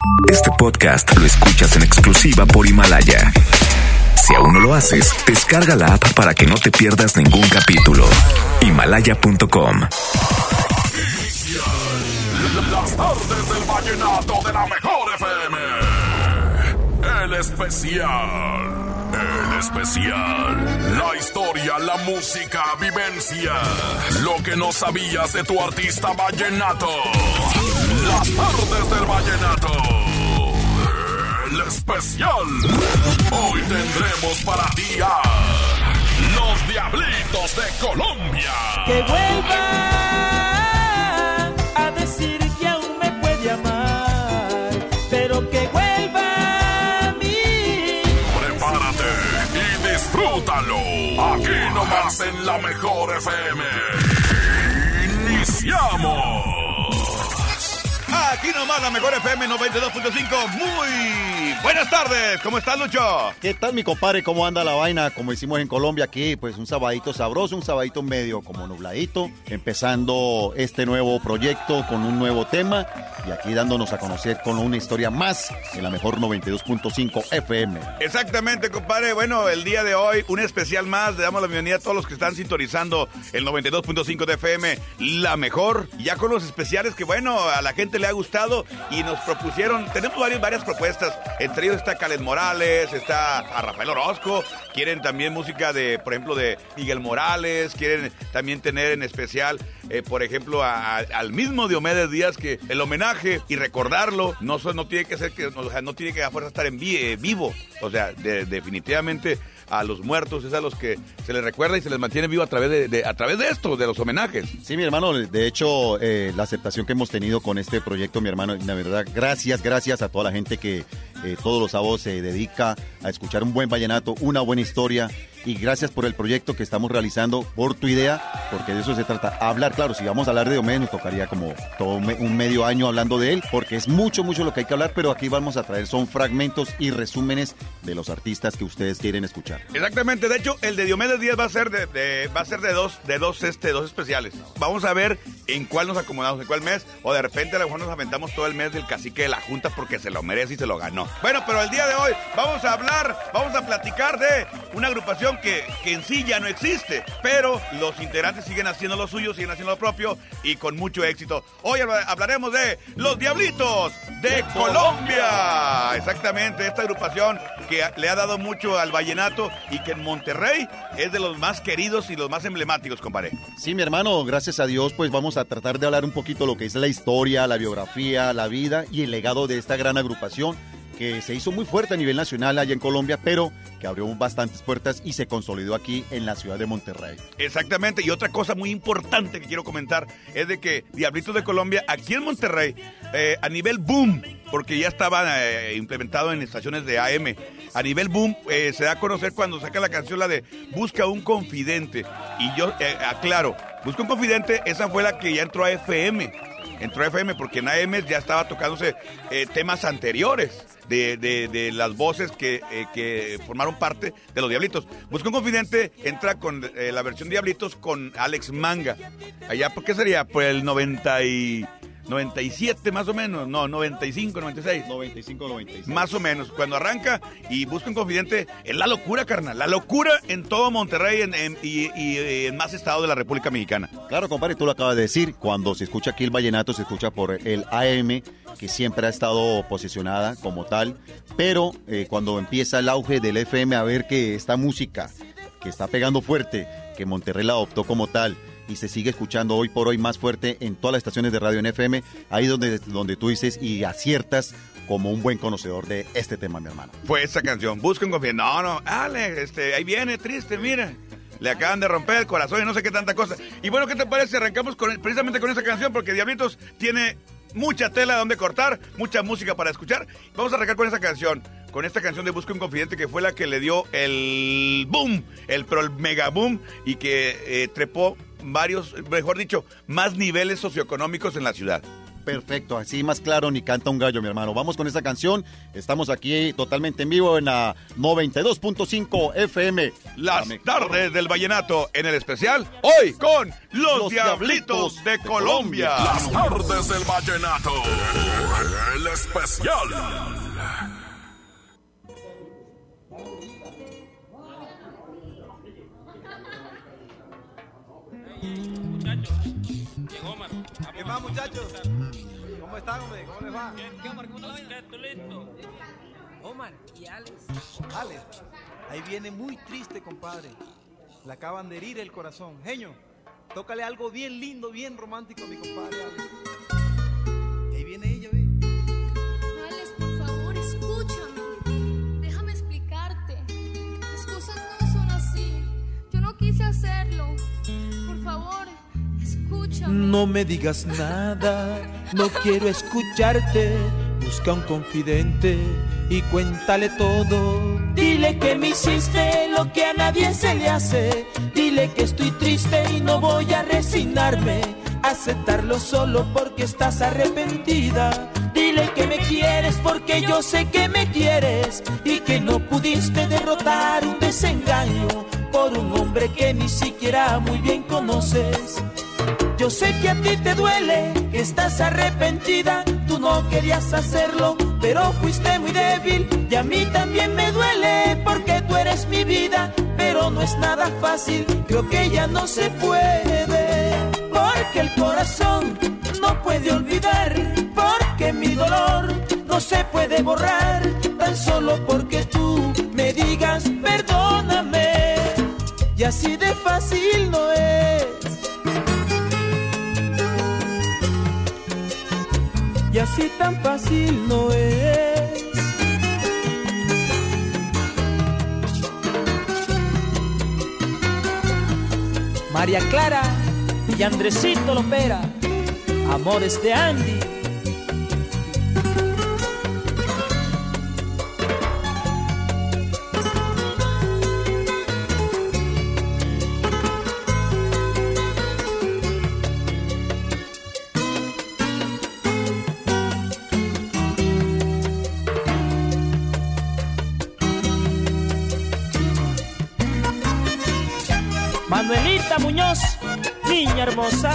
Este podcast lo escuchas en exclusiva por Himalaya. Si aún no lo haces, descarga la app para que no te pierdas ningún capítulo. Himalaya.com. Las tardes del vallenato de la mejor FM. El especial. La historia, la música, vivencia. Lo que no sabías de tu artista vallenato. Las tardes del vallenato. El especial. Hoy tendremos para ti a los Diablitos de Colombia. Que vuelva a decir que aún me puede amar, pero que vuelva a mí. Prepárate y disfrútalo. Aquí nomás en la mejor FM. Iniciamos. Aquí nomás la mejor FM 92.5. Muy buenas tardes. ¿Cómo estás, Lucho? ¿Qué tal, mi compadre? ¿Cómo anda la vaina? Como hicimos en Colombia aquí, pues un sabadito sabroso, un sabadito medio como nubladito, empezando este nuevo proyecto con un nuevo tema y aquí dándonos a conocer con una historia más en la mejor 92.5 FM. Exactamente, compadre. Bueno, el día de hoy, un especial más. Le damos la bienvenida a todos los que están sintonizando el 92.5 de FM, la mejor. Ya con los especiales que, bueno, a la gente le ha gustado y nos propusieron, tenemos varias propuestas, entre ellos está Khaled Morales, está a Rafael Orozco, quieren también música de, por ejemplo, de Miguel Morales, quieren también tener en especial, por ejemplo, al mismo Diomedes Díaz, que el homenaje y recordarlo no tiene que ser, no tiene que a fuerza estar en vivo, o sea, definitivamente a los muertos es a los que se les recuerda y se les mantiene vivo a través de esto, de los homenajes. Sí, mi hermano, de hecho, la aceptación que hemos tenido con este proyecto, mi hermano, la verdad, gracias a toda la gente que todos los sábados se dedica a escuchar un buen vallenato, una buena historia, y gracias por el proyecto que estamos realizando, por tu idea, porque de eso se trata, hablar. Claro, si vamos a hablar de Diomedes nos tocaría como todo un medio año hablando de él, porque es mucho lo que hay que hablar, pero aquí vamos a traer, son fragmentos y resúmenes de los artistas que ustedes quieren escuchar. Exactamente, de hecho, el de Diomedes Díaz va a ser de dos especiales. Vamos a ver en cuál nos acomodamos, en cuál mes, o de repente a lo mejor nos aventamos todo el mes del cacique de la Junta porque se lo merece y se lo ganó. Bueno, pero el día de hoy vamos a platicar de una agrupación que en sí ya no existe, pero los integrantes siguen haciendo lo suyo, siguen haciendo lo propio y con mucho éxito. Hoy hablaremos de los Diablitos de Colombia. Exactamente, esta agrupación que le ha dado mucho al vallenato y que en Monterrey es de los más queridos y los más emblemáticos, compadre. Sí, mi hermano, gracias a Dios, pues vamos a tratar de hablar un poquito lo que es la historia, la biografía, la vida y el legado de esta gran agrupación que se hizo muy fuerte a nivel nacional allá en Colombia, pero que abrió bastantes puertas y se consolidó aquí en la ciudad de Monterrey. Exactamente, y otra cosa muy importante que quiero comentar es de que Diablitos de Colombia, aquí en Monterrey, a nivel boom, porque ya estaba implementado en estaciones de AM, a nivel boom, se da a conocer cuando saca la canción, la de Busca un Confidente, y yo aclaro, Busca un Confidente, esa fue la que ya entró a FM, porque en AM ya estaba tocándose temas anteriores de las voces que formaron parte de los Diablitos. Busca un Confidente entra con la versión Diablitos con Alex Manga. Allá, ¿por qué sería? Por el 97 más o menos, no, 95, 96. 95. Más o menos, cuando arranca y Busca un Confidente, es la locura, carnal, la locura en todo Monterrey y en más estados de la República Mexicana. Claro, compadre, tú lo acabas de decir, cuando se escucha aquí el vallenato, se escucha por el AM, que siempre ha estado posicionada como tal, pero cuando empieza el auge del FM a ver que esta música que está pegando fuerte, que Monterrey la adoptó como tal, y se sigue escuchando hoy por hoy más fuerte en todas las estaciones de radio en FM, ahí donde tú dices y aciertas como un buen conocedor de este tema, mi hermano. Fue esa canción, Busca un Confidente. No, Alex, ahí viene triste, mira. Le acaban de romper el corazón y no sé qué tanta cosa. Y bueno, ¿qué te parece si arrancamos precisamente con esa canción? Porque Diablitos tiene mucha tela donde cortar, mucha música para escuchar. Vamos a arrancar con esta canción de Busca un Confidente, que fue la que le dio el boom, el mega boom, y que trepó varios, mejor dicho, más niveles socioeconómicos en la ciudad. Perfecto, así más claro ni canta un gallo, mi hermano. Vamos con esta canción. Estamos aquí totalmente en vivo en la 92.5 FM. Las tardes del vallenato en el especial, hoy con los Diablitos de Colombia. Las tardes del vallenato, el especial. ¿Qué más, muchachos? ¿Cómo están, hombre? ¿Cómo les va? ¿Qué, Omar? ¿Cómo te va? Listo. Omar y Alex. Alex, ahí viene muy triste, compadre. Le acaban de herir el corazón. Genio, tócale algo bien lindo, bien romántico a mi compadre Alex. Ahí viene ella, ve. Alex, por favor, escúchame. Déjame explicarte. Las cosas no son así. Yo no quise hacerlo. Por favor, escúchame. No me digas nada, no quiero escucharte. Busca un confidente y cuéntale todo. Dile que me hiciste lo que a nadie se le hace. Dile que estoy triste y no voy a resignarme. Aceptarlo solo porque estás arrepentida. Dile que me quieres porque yo sé que me quieres. Y que no pudiste derrotar un desengaño por un hombre que ni siquiera muy bien conoces. Yo sé que a ti te duele, que estás arrepentida. Tú no querías hacerlo, pero fuiste muy débil. Y a mí también me duele, porque tú eres mi vida. Pero no es nada fácil, creo que ya no se puede. Porque el corazón no puede olvidar. Porque mi dolor no se puede borrar. Tan solo porque tú me digas perdóname. Y así de fácil no es. Y así tan fácil no es. María Clara y Andresito Lopera, amores de Andy. Manuelita Muñoz, niña hermosa.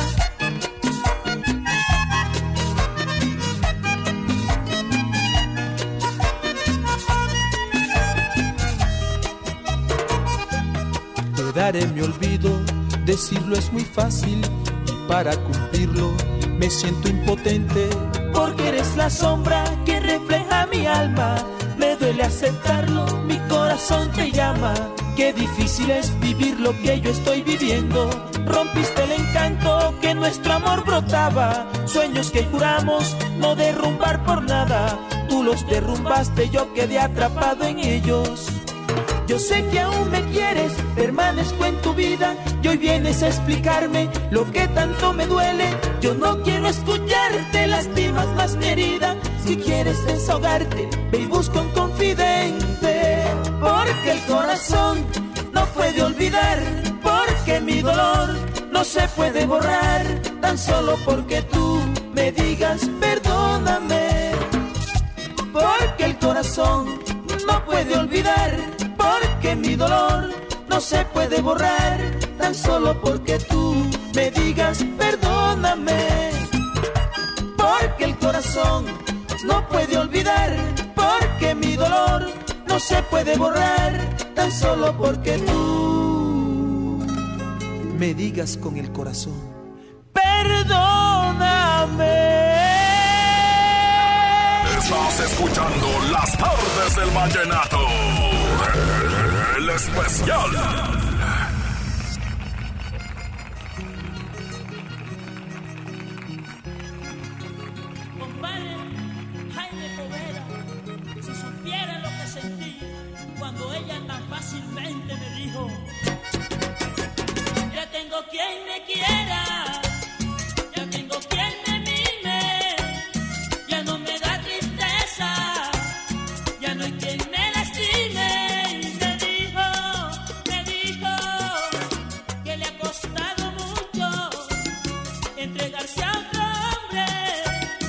Te daré mi olvido, decirlo es muy fácil. Y para cumplirlo me siento impotente. Porque eres la sombra que refleja mi alma. Me duele aceptarlo, mi corazón te llama. Qué difícil es vivir lo que yo estoy viviendo. Rompiste el encanto que nuestro amor brotaba. Sueños que juramos no derrumbar por nada. Tú los derrumbaste, yo quedé atrapado en ellos. Yo sé que aún me quieres, permanezco en tu vida. Y hoy vienes a explicarme lo que tanto me duele. Yo no quiero escucharte, lastimas más mi herida. Si quieres desahogarte, ve y busca un confidente. Porque el corazón no puede olvidar. Porque mi dolor no se puede borrar. Tan solo porque tú me digas perdóname. Porque el corazón no puede olvidar. Porque mi dolor no se puede borrar. Tan solo porque tú me digas perdóname. Porque el corazón no puede olvidar. Porque mi dolor no se puede borrar. Tan solo porque tú me digas con el corazón perdóname. Estás escuchando Las Tardes del Vallenato, el especial. Compadre Jaime Poveda, si supiera lo que sentí cuando ella tan fácilmente me dijo: ya tengo quien me quiera, ya tengo quien me mime, ya no me da tristeza, ya no hay quien me lastime. Y me dijo que le ha costado mucho entregarse a otro hombre,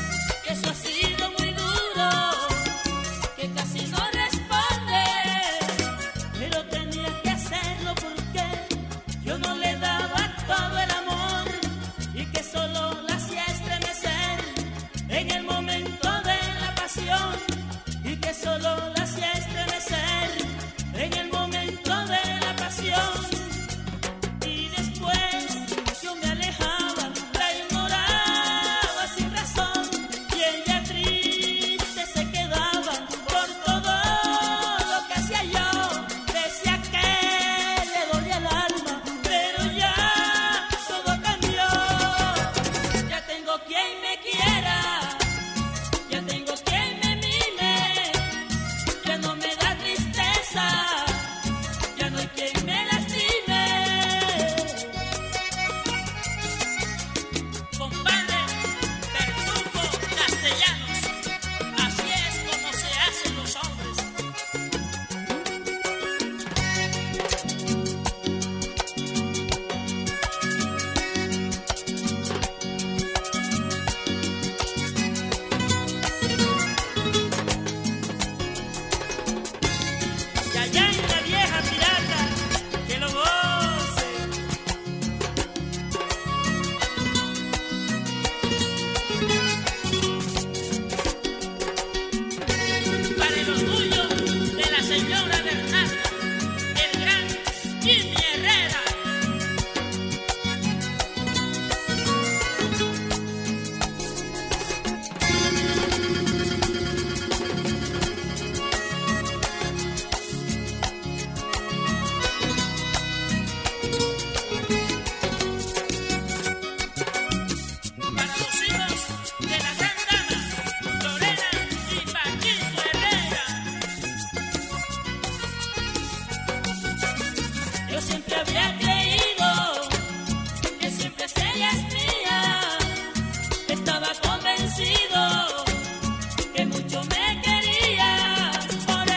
había creído que siempre serías mía. Estaba convencido que mucho me querías. Por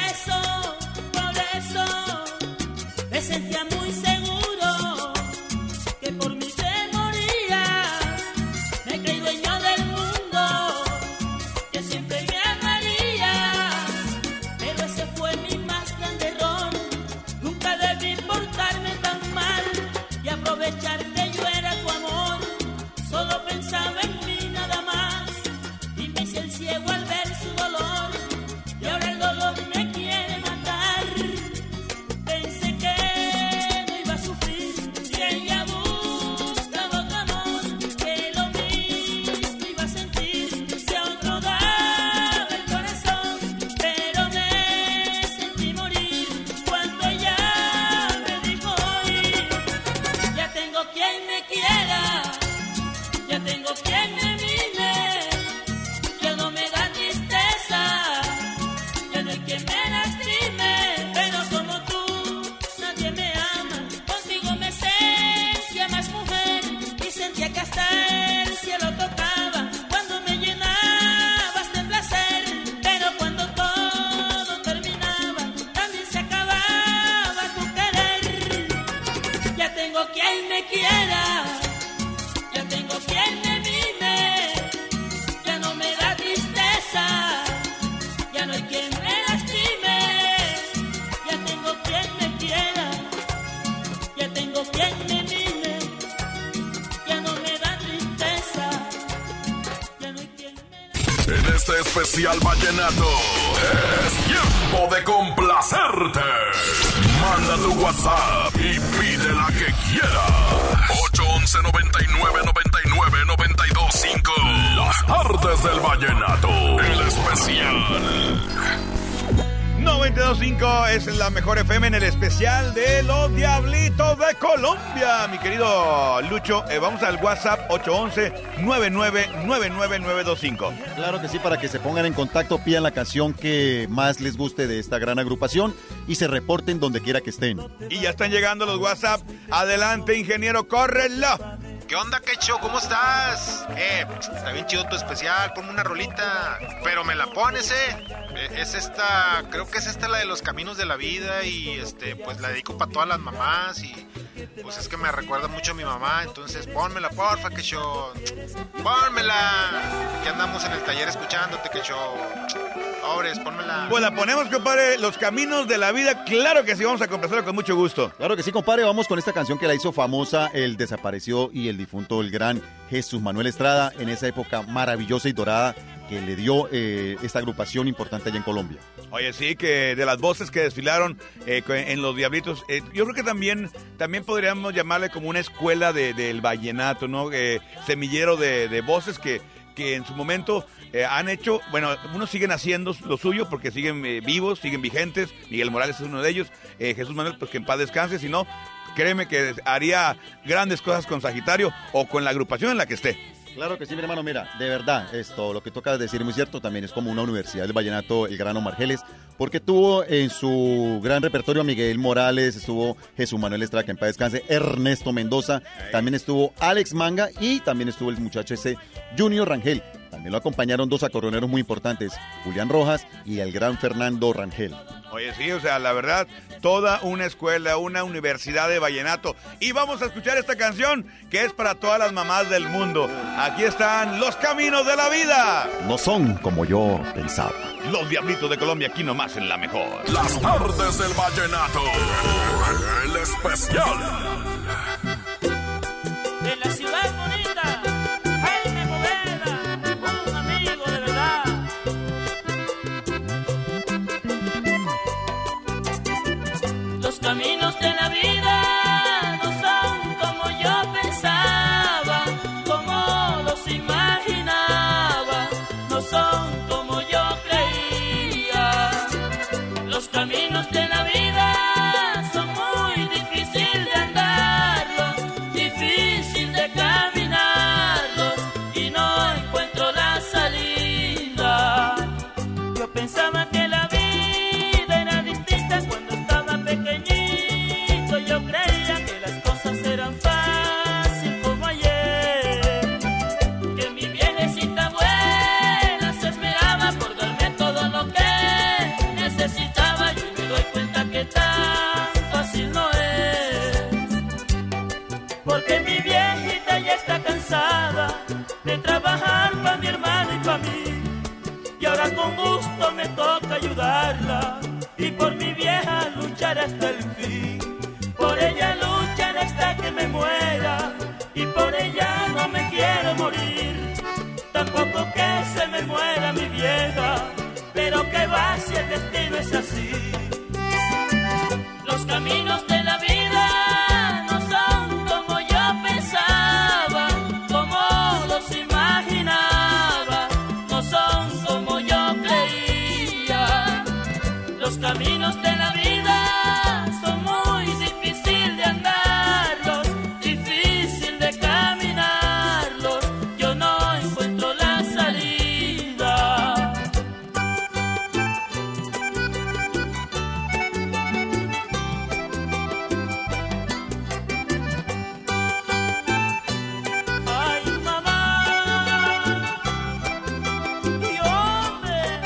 eso me sentía muy seguro que por mí te morías. Me creí dueño del mundo, que siempre me amarías. Pero ese fue mi más grande error. Nunca debí portarme tan mal y aprovechar que yo era tu amor. Solo pensaba en mí nada más y me hice el ciego al ver su dolor. Y ahora el dolor me quiere matar. Pensé que no iba a sufrir si ella buscaba otro amor, que lo mismo iba a sentir si a otro daba el corazón. Pero me sentí morir cuando ella me dijo hoy: ya tengo quien me quiera, ya tengo quien me mime, ya no me da tristeza, ya no hay quien me lastime. Pero como tú, nadie me ama. Contigo me sentía más mujer y sentía que hasta el cielo tocaba cuando me llenabas de placer. Pero cuando todo terminaba, también se acababa tu querer. Ya tengo quien me quiera, ya tengo quien me mime, ya no me da tristeza, ya no hay quien me lastime. Ya tengo quien me quiera, ya tengo quien me mime, ya no me da tristeza, ya no hay quien me lastime. En este especial vallenato es tiempo de complacerte. Manda tu WhatsApp y pide la que quieras. 811 99 99 92 5. Las tardes del vallenato. El especial. 92.5 es la mejor FM en el especial de los Diablitos de Colombia. Mi querido Lucho, vamos al WhatsApp 811-999925. Claro que sí, para que se pongan en contacto, pidan la canción que más les guste de esta gran agrupación y se reporten donde quiera que estén. Y ya están llegando los WhatsApp. Adelante, ingeniero, córrelo. ¿Qué onda, Quecho? ¿Cómo estás? Está bien chido tu especial, ponme una rolita. Pero me la pones, es esta, creo que es esta la de los caminos de la vida. Y pues la dedico para todas las mamás. Y pues es que me recuerda mucho a mi mamá. Entonces pónmela, porfa, Quecho. Pónmela. Que andamos en el taller escuchándote, Quecho. Pobres, pónmela. Pues la ponemos, compadre, los caminos de la vida. Claro que sí, vamos a complacerlo con mucho gusto. Claro que sí, compadre, vamos con esta canción que la hizo famosa el desaparecido y el difunto, el gran Jesús Manuel Estrada, en esa época maravillosa y dorada que le dio esta agrupación importante allá en Colombia. Oye, sí, que de las voces que desfilaron en los Diablitos, yo creo que también podríamos llamarle como una escuela del vallenato, ¿no? Semillero de voces que en su momento han hecho, bueno, unos siguen haciendo lo suyo porque siguen vivos, siguen vigentes. Miguel Morales es uno de ellos. Jesús Manuel, pues que en paz descanse, si no, créeme que haría grandes cosas con Sagitario o con la agrupación en la que esté. Claro que sí, mi hermano, mira, de verdad, lo que toca decir es muy cierto, también es como una universidad del vallenato, el gran Omar Geles, porque tuvo en su gran repertorio a Miguel Morales, estuvo Jesús Manuel Estrada, que en paz descanse, Ernesto Mendoza, también estuvo Alex Manga y también estuvo el muchacho ese Junior Rangel. También lo acompañaron dos acordeoneros muy importantes, Julián Rojas y el gran Fernando Rangel. Oye, sí, o sea, la verdad, toda una escuela, una universidad de vallenato. Y vamos a escuchar esta canción que es para todas las mamás del mundo. Aquí están Los Caminos de la Vida. No son como yo pensaba. Los Diablitos de Colombia, aquí nomás en la mejor. Las tardes del vallenato. El especial. De la ciudad bonita, Jaime Poveda, un amigo de verdad. Los caminos de la vida no son como yo pensaba, como los imaginaba, no son como yo creía. Los caminos de la vida son muy difíciles de andarlos, difícil de caminarlos y no encuentro la salida. Yo pensaba que la vida era distinta cuando estaba pequeñito. Yo me toca ayudarla y por mi vieja luchar hasta el fin. Por ella lucharé hasta que me muera y por ella no me quiero morir. Tampoco que se me muera mi vieja, pero que va si el destino es así. Los caminos de la vida no son como yo pensaba, como los imaginaba, no son como yo creía. Los caminos de la vida son muy difíciles de andarlos, difícil de caminarlos. Yo no encuentro la salida. Ay, mamá, y hombre.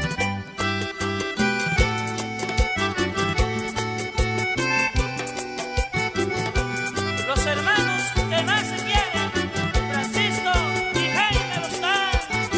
Los hermanos que más se quieren, Francisco y Jaime Lozán.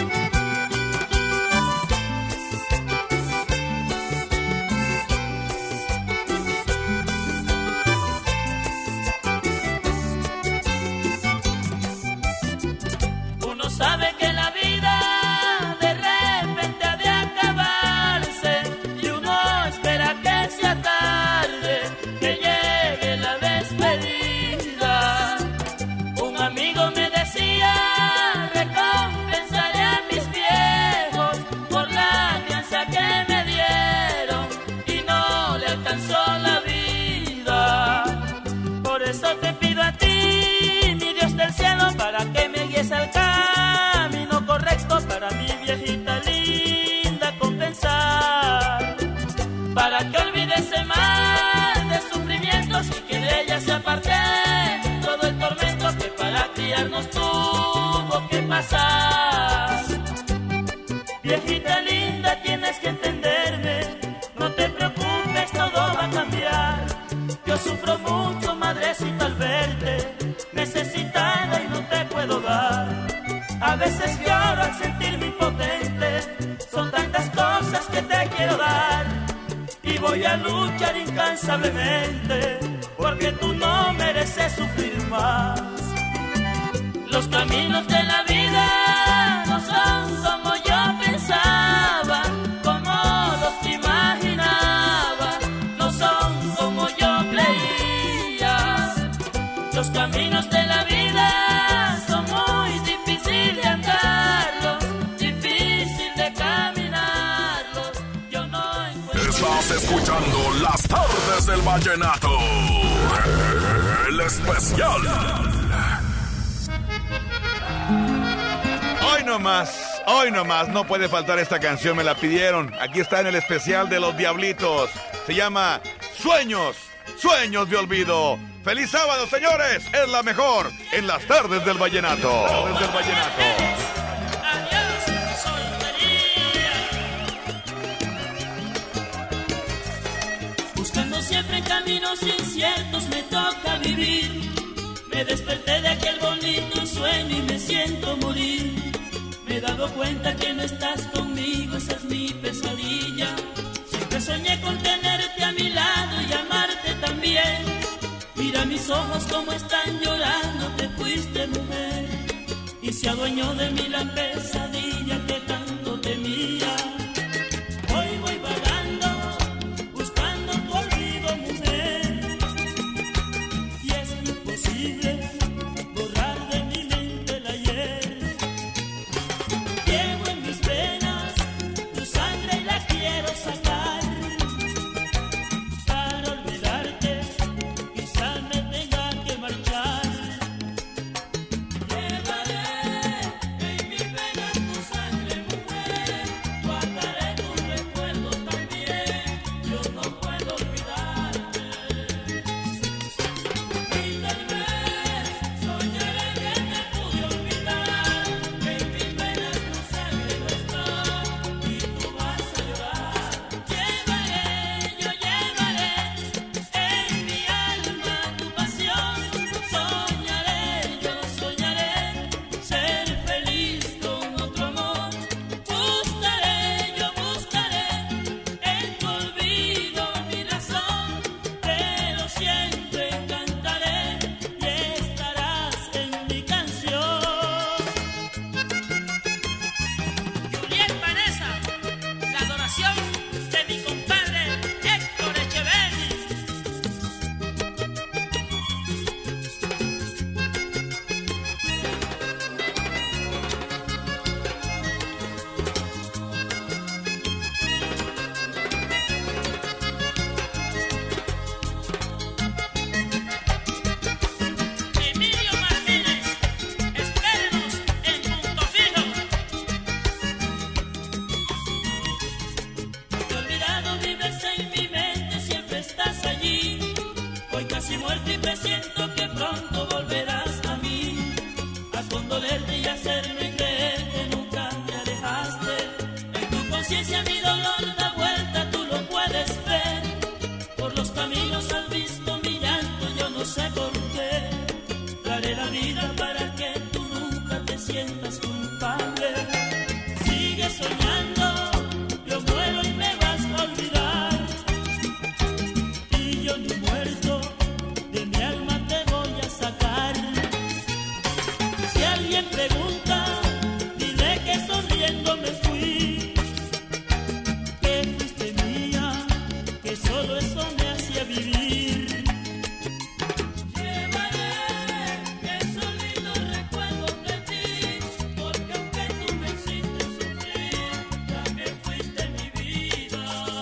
Uno sabe que la vida de repente ha de acabarse y uno espera que sea tarde, que llegue la despedida. Un amigo me decía, recompensaré a mis viejos por la crianza que me dieron y no le alcanzó la vida. Por eso te pido a ti, mi Dios del cielo, para que me guíes al camino correcto para mi viejita linda compensar, para que olvide ese mal de sufrimientos y que de ella se aparte todo el tormento que para criarnos tuvo que pasar. Viejita linda, tienes que entenderme, no te preocupes, todo va a cambiar. Yo sufro mucho, madrecita, al verte necesitada y no te puedo dar. A veces lloro al sentirme impotente, son tantas cosas que te quiero dar. Y voy a luchar incansablemente, porque tú no mereces sufrir más. Los caminos de la vida no son como yo pensaba, como los imaginaba, no son como yo creía. Los caminos de la vida son muy difíciles de andarlos, difícil de caminarlos. Yo no encuentro. Estás escuchando las tardes del vallenato, el especial. Hoy nomás, no puede faltar esta canción, me la pidieron. Aquí está en el especial de los Diablitos. Se llama Sueños, Sueños de Olvido. ¡Feliz sábado, señores! Es la mejor en las tardes del vallenato. Tardes del vallenato. Adiós, soltería. Buscando siempre caminos inciertos me toca vivir. Me desperté de aquel bonito sueño y me siento morir. Me he dado cuenta que no estás conmigo, esa es mi pesadilla. Siempre soñé con tenerte a mi lado y amarte también. Mira mis ojos como están llorando, te fuiste, mujer. Y se adueñó de mí la pesadilla que tanto temía. Hoy voy vagando, buscando tu olvido, mujer. Y es imposible borrar de mi mente el ayer. Llevo en mis venas tu sangre y la quiero sacar. Para olvidarte, quizá me tenga que marchar. Llevaré en mi pena dolor da vuelta, tú lo puedes ver. Por los caminos has visto mi llanto, yo no sé por qué. Daré la vida para que tú nunca te sientas culpable. Sigue soñando, yo muero y me vas a olvidar. Y yo ni muerto, de mi alma te voy a sacar. Si alguien pregunta, dile que sonriendo me fui, que fuiste mía, que solo eso me hacía vivir. Llevaré esos lindos recuerdos de ti, porque aunque tú me hiciste sufrir, también fuiste mi vida.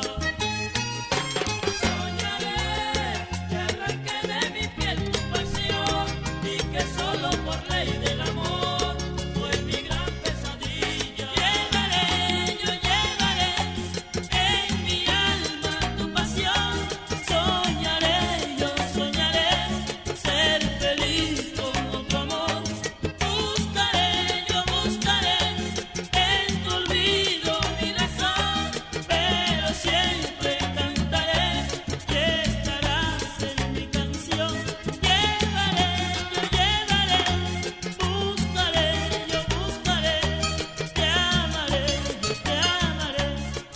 Soñaré que arranqué de mi piel tu pasión y que solo por ley del amor fue mi gran pesadilla. Yo llevaré en mi alma tu pasión. Soñaré, yo soñaré ser feliz con otro amor. Buscaré, yo buscaré en tu olvido mi razón, pero siempre cantaré que estarás en mi canción. Llevaré, yo llevaré, buscaré, yo buscaré, te amaré, yo te amaré.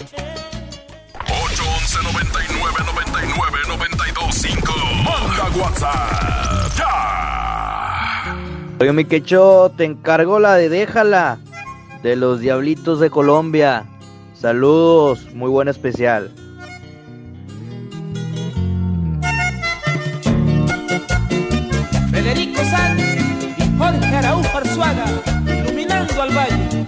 811-9999-925. Manda WhatsApp ya. Oye, mi quecho, te encargo la de Déjala, de los Diablitos de Colombia. Saludos, muy buen especial. Federico Sanz y Jorge Araújo Arzuaga, iluminando al valle.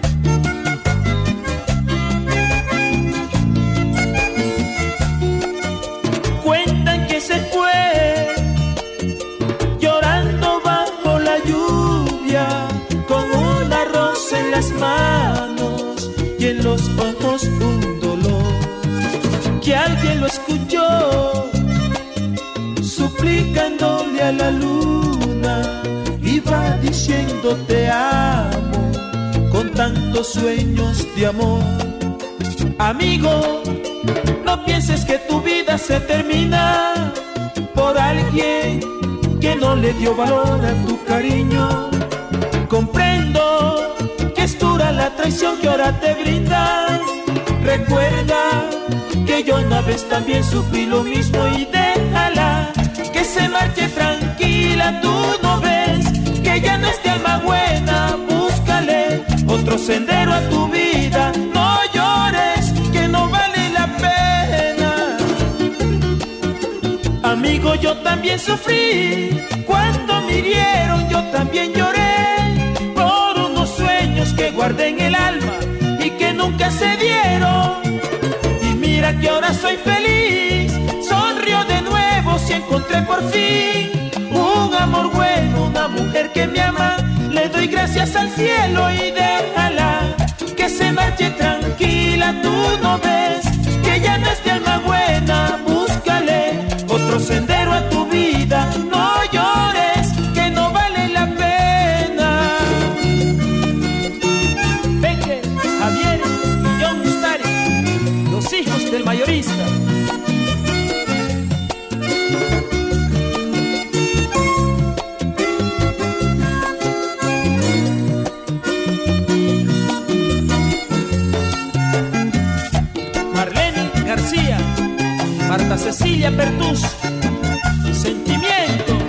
Cuentan que se fue llorando bajo la lluvia, con una rosa en las manos y en los ojos un dolor. Que alguien lo escuchó suplicándole a la luna, iba diciendo te amo con tantos sueños de amor. Amigo, no pienses que tu vida se termina por alguien que no le dio valor a tu cariño. Comprendo que es dura la traición que ahora te brinda. Recuerda que yo una vez también sufrí lo mismo y déjala que se marche tranquila. Tú no ves que ya no es de alma buena. Búscale otro sendero a tu vida. No llores, que no vale la pena. Amigo, yo también sufrí cuando me hirieron. Yo también lloré por unos sueños que guardé en el alma y que nunca se dieron. Y mira que ahora soy feliz, sonrío de nuevo si encontré por fin un amor bueno, una mujer que me ama. Le doy gracias al cielo y déjala que se marche tranquila. Tú no ves que ya no es de alma buena. Búscale otro sendero a tu vida. No llores, que no vale la pena. Bengue, Javier y John Ustari, los hijos del mayorista. Marlene García, Marta Cecilia Pertus, Sentimiento.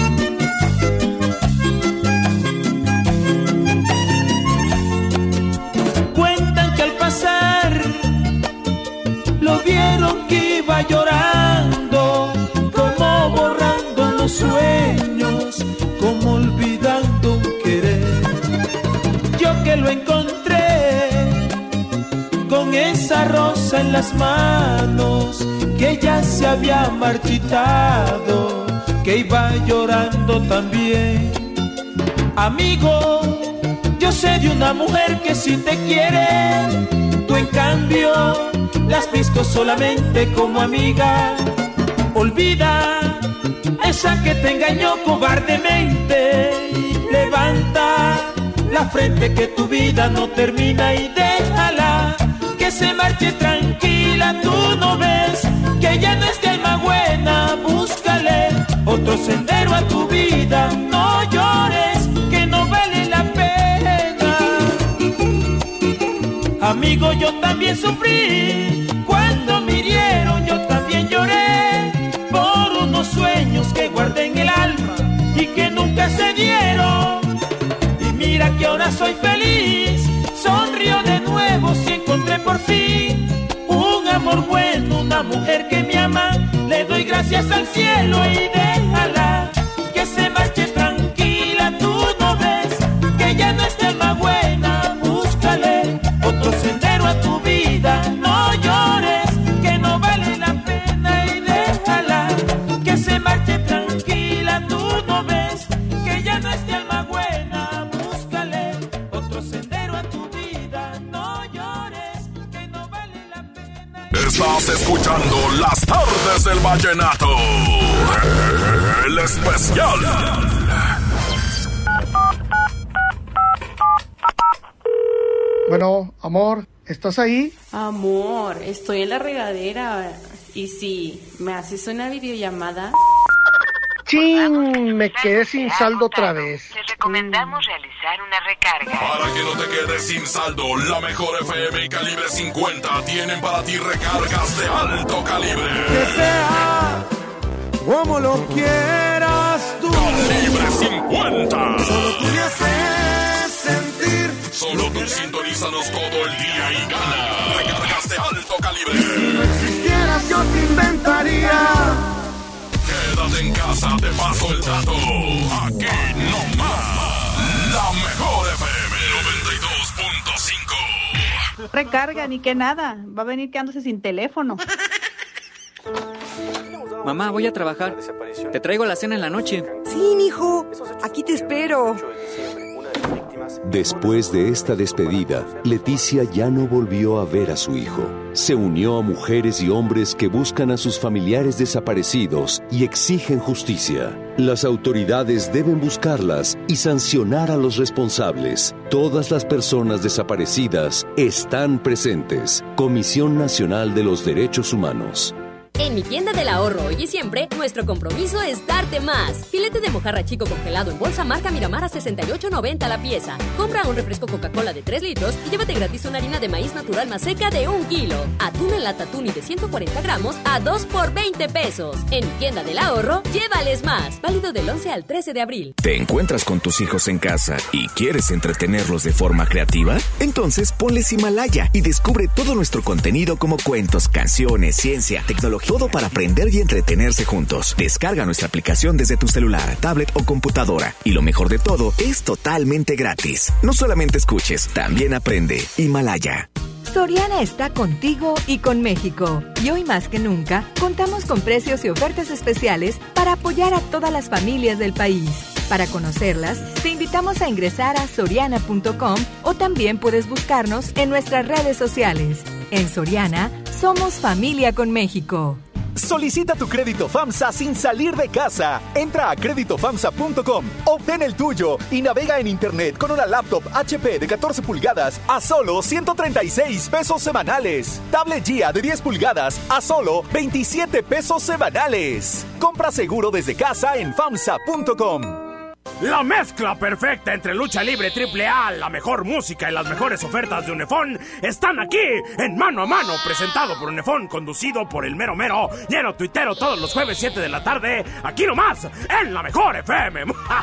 Cuentan que al pasar lo vieron que iba llorando, como borrando los sueños, como olvidando un querer. Yo que lo encontré con esa rosa en las manos, que ya se había marchitado, que iba llorando también. Amigo, yo sé de una mujer que sí te quiere. Tú en cambio la has visto solamente como amiga. Olvida esa que te engañó cobardemente. Levanta la frente que tu vida no termina y déjala que se marche tranquila. Tú no ves que ya no es de alma buena. Búscale otro sendero a tu vida. No llores, que no vale la pena. Amigo, yo también sufrí cuando me hirieron. Yo también lloré por unos sueños que guardé en el alma y que nunca se dieron. Y mira que ahora soy feliz, sonrío de nuevo si encontré por fin un amor bueno, una mujer que me ama. Le doy gracias al cielo y déjala que se marche tranquila. Tú no ves que ya no es de alma buena. Búscale otro sendero a tu vida. No llores, que no vale la pena, y déjala que se marche tranquila. Tú no ves que ya no es de alma buena. Búscale otro sendero a tu vida. No llores, que no vale la pena. Estás escuchando Las Tardes del Vallenato, el especial. Bueno, amor, ¿estás ahí? Amor, estoy en la regadera. ¿Y si me haces una videollamada? ¡Chin! Me quedé sin saldo otra vez. Te recomendamos realizar una recarga. Para que no te quedes sin saldo, la mejor FM y Calibre 50 tienen para ti recargas de alto calibre. Que sea como lo quieras tú. Calibre 50. Solo tú me haces sentir. Solo tú sintonízanos todo el día y gana recargas de alto calibre. Si no existieras yo te inventaría. Quédate en casa, te paso el dato. Aquí no más. La mejor FM 92.5. Recarga, ni que nada. Va a venir quedándose sin teléfono. Mamá, voy a trabajar. Te traigo la cena en la noche. Sí, mijo. Aquí te espero. Después de esta despedida, Leticia ya no volvió a ver a su hijo. Se unió a mujeres y hombres que buscan a sus familiares desaparecidos y exigen justicia. Las autoridades deben buscarlas y sancionar a los responsables. Todas las personas desaparecidas están presentes. Comisión Nacional de los Derechos Humanos. En mi tienda del ahorro hoy y siempre, nuestro compromiso es darte más. Filete de mojarra chico congelado en bolsa marca Miramar a $68.90 la pieza. Compra un refresco Coca-Cola de 3 litros y llévate gratis una harina de maíz natural más seca de 1 kilo. Atún en lata tuni de 140 gramos a 2 por 20 pesos. En mi tienda del ahorro, llévales más. Válido del 11 al 13 de abril. ¿Te encuentras con tus hijos en casa y quieres entretenerlos de forma creativa? Entonces ponles Himalaya y descubre todo nuestro contenido como cuentos, canciones, ciencia, tecnología. Todo para aprender y entretenerse juntos. Descarga nuestra aplicación desde tu celular, tablet o computadora. Y lo mejor de todo, es totalmente gratis. No solamente escuches, también aprende. Himalaya. Soriana está contigo y con México. Y hoy más que nunca, contamos con precios y ofertas especiales para apoyar a todas las familias del país. Para conocerlas, te invitamos a ingresar a soriana.com o también puedes buscarnos en nuestras redes sociales. En Soriana, somos familia con México. Solicita tu crédito FAMSA sin salir de casa. Entra a creditofamsa.com, obtén el tuyo y navega en internet con una laptop HP de 14 pulgadas a solo 136 pesos semanales. Tablet Gia de 10 pulgadas a solo 27 pesos semanales. Compra seguro desde casa en famsa.com. La mezcla perfecta entre lucha libre AAA, la mejor música y las mejores ofertas de Unefón están aquí en Mano a Mano, presentado por Unefón, conducido por el mero mero, lleno tuitero todos los jueves 7 de la tarde, aquí nomás, en la mejor FM.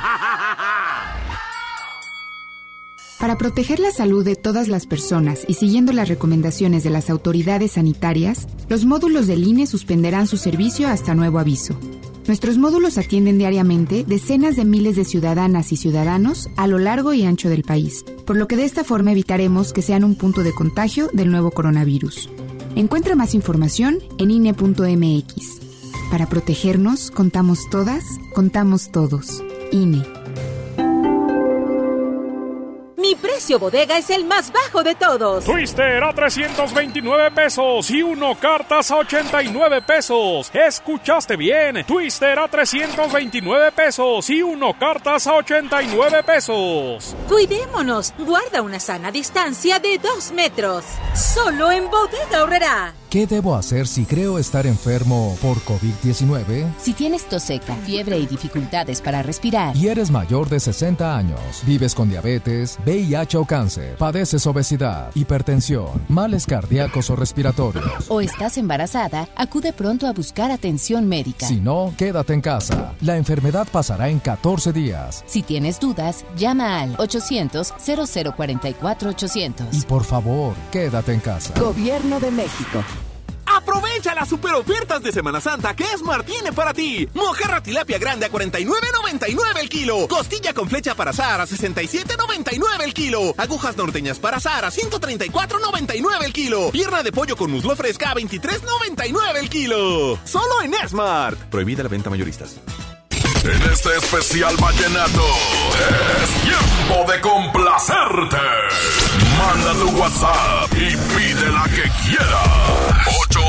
Para proteger la salud de todas las personas y siguiendo las recomendaciones de las autoridades sanitarias, los módulos del INE suspenderán su servicio hasta nuevo aviso. Nuestros módulos atienden diariamente decenas de miles de ciudadanas y ciudadanos a lo largo y ancho del país, por lo que de esta forma evitaremos que sean un punto de contagio del nuevo coronavirus. Encuentra más información en INE.mx. Para protegernos, contamos todas, contamos todos. INE. Mi precio bodega es el más bajo de todos. Twister a 329 pesos y uno cartas a 89 pesos. ¿Escuchaste bien? Twister a 329 pesos y uno cartas a 89 pesos. Cuidémonos. Guarda una sana distancia de 2 metros. Solo en Bodega Aurrerá. ¿Qué debo hacer si creo estar enfermo por COVID-19? Si tienes tos seca, fiebre y dificultades para respirar, y eres mayor de 60 años, vives con diabetes, VIH o cáncer, padeces obesidad, hipertensión, males cardíacos o respiratorios, o estás embarazada, acude pronto a buscar atención médica. Si no, quédate en casa. La enfermedad pasará en 14 días. Si tienes dudas, llama al 800-0044-800. Y por favor, quédate en casa. Gobierno de México. Aprovecha las super ofertas de Semana Santa que Esmart tiene para ti. Mojarra tilapia grande a $49.99 el kilo. Costilla con flecha para asar a $67.99 el kilo. Agujas norteñas para asar a $134.99 el kilo. Pierna de pollo con muslo fresca a $23.99 el kilo. Solo en Esmart. Prohibida la venta mayoristas. En este especial vallenato es tiempo de complacerte. Manda tu WhatsApp y pide la que quieras.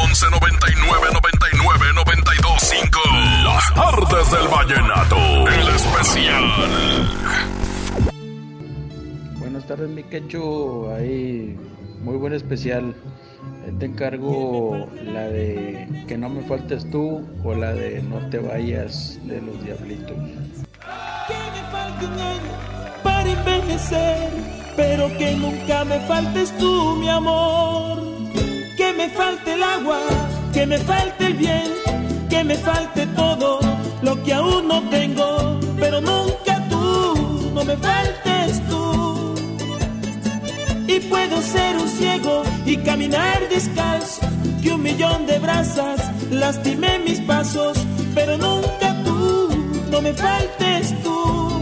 811-9999-925. Las tardes del vallenato. El especial. Buenas tardes, mi Quechu. Ahí, muy buen especial. Te encargo la de Que no me faltes tú o la de No te vayas de Los Diablitos. Que me falte un año para envejecer, pero que nunca me faltes tú, mi amor. Que me falte el agua, que me falte el viento, que me falte todo lo que aún no tengo, pero nunca tú, no me faltes tú. Y puedo ser un ciego y caminar descalzo, que 1.000.000 de brasas lastimé mis pasos, pero nunca tú, no me faltes tú.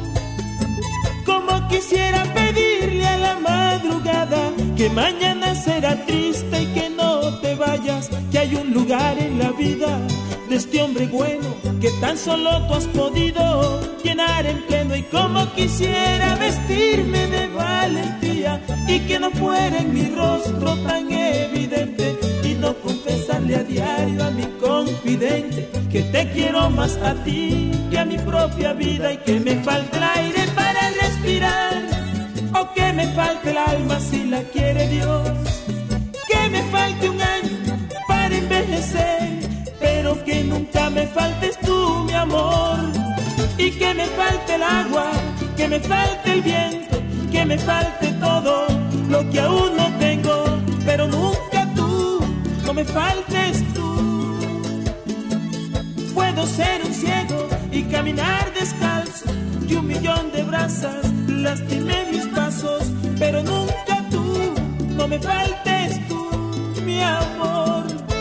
Como quisiera pedirle a la madrugada que mañana será triste y que no te vayas, que hay un lugar en la vida de este hombre bueno que tan solo tú has podido llenar en pleno. Y como quisiera vestirme de valentía y que no fuera en mi rostro tan evidente, y no confesarle a diario a mi confidente que te quiero más a ti que a mi propia vida, y que me falte el aire para respirar, o que me falte el alma si la quiere Dios, que me falte un año para envejecer, pero que nunca me faltes tú, mi amor. Y que me falte el agua, que me falte el viento, que me falte todo lo que aún no tengo, pero nunca tú, no me faltes tú. Puedo ser un ciego y caminar descalzo, y 1.000.000 de brasas lastimé mis pasos, pero nunca tú, no me faltes tú, mi amor.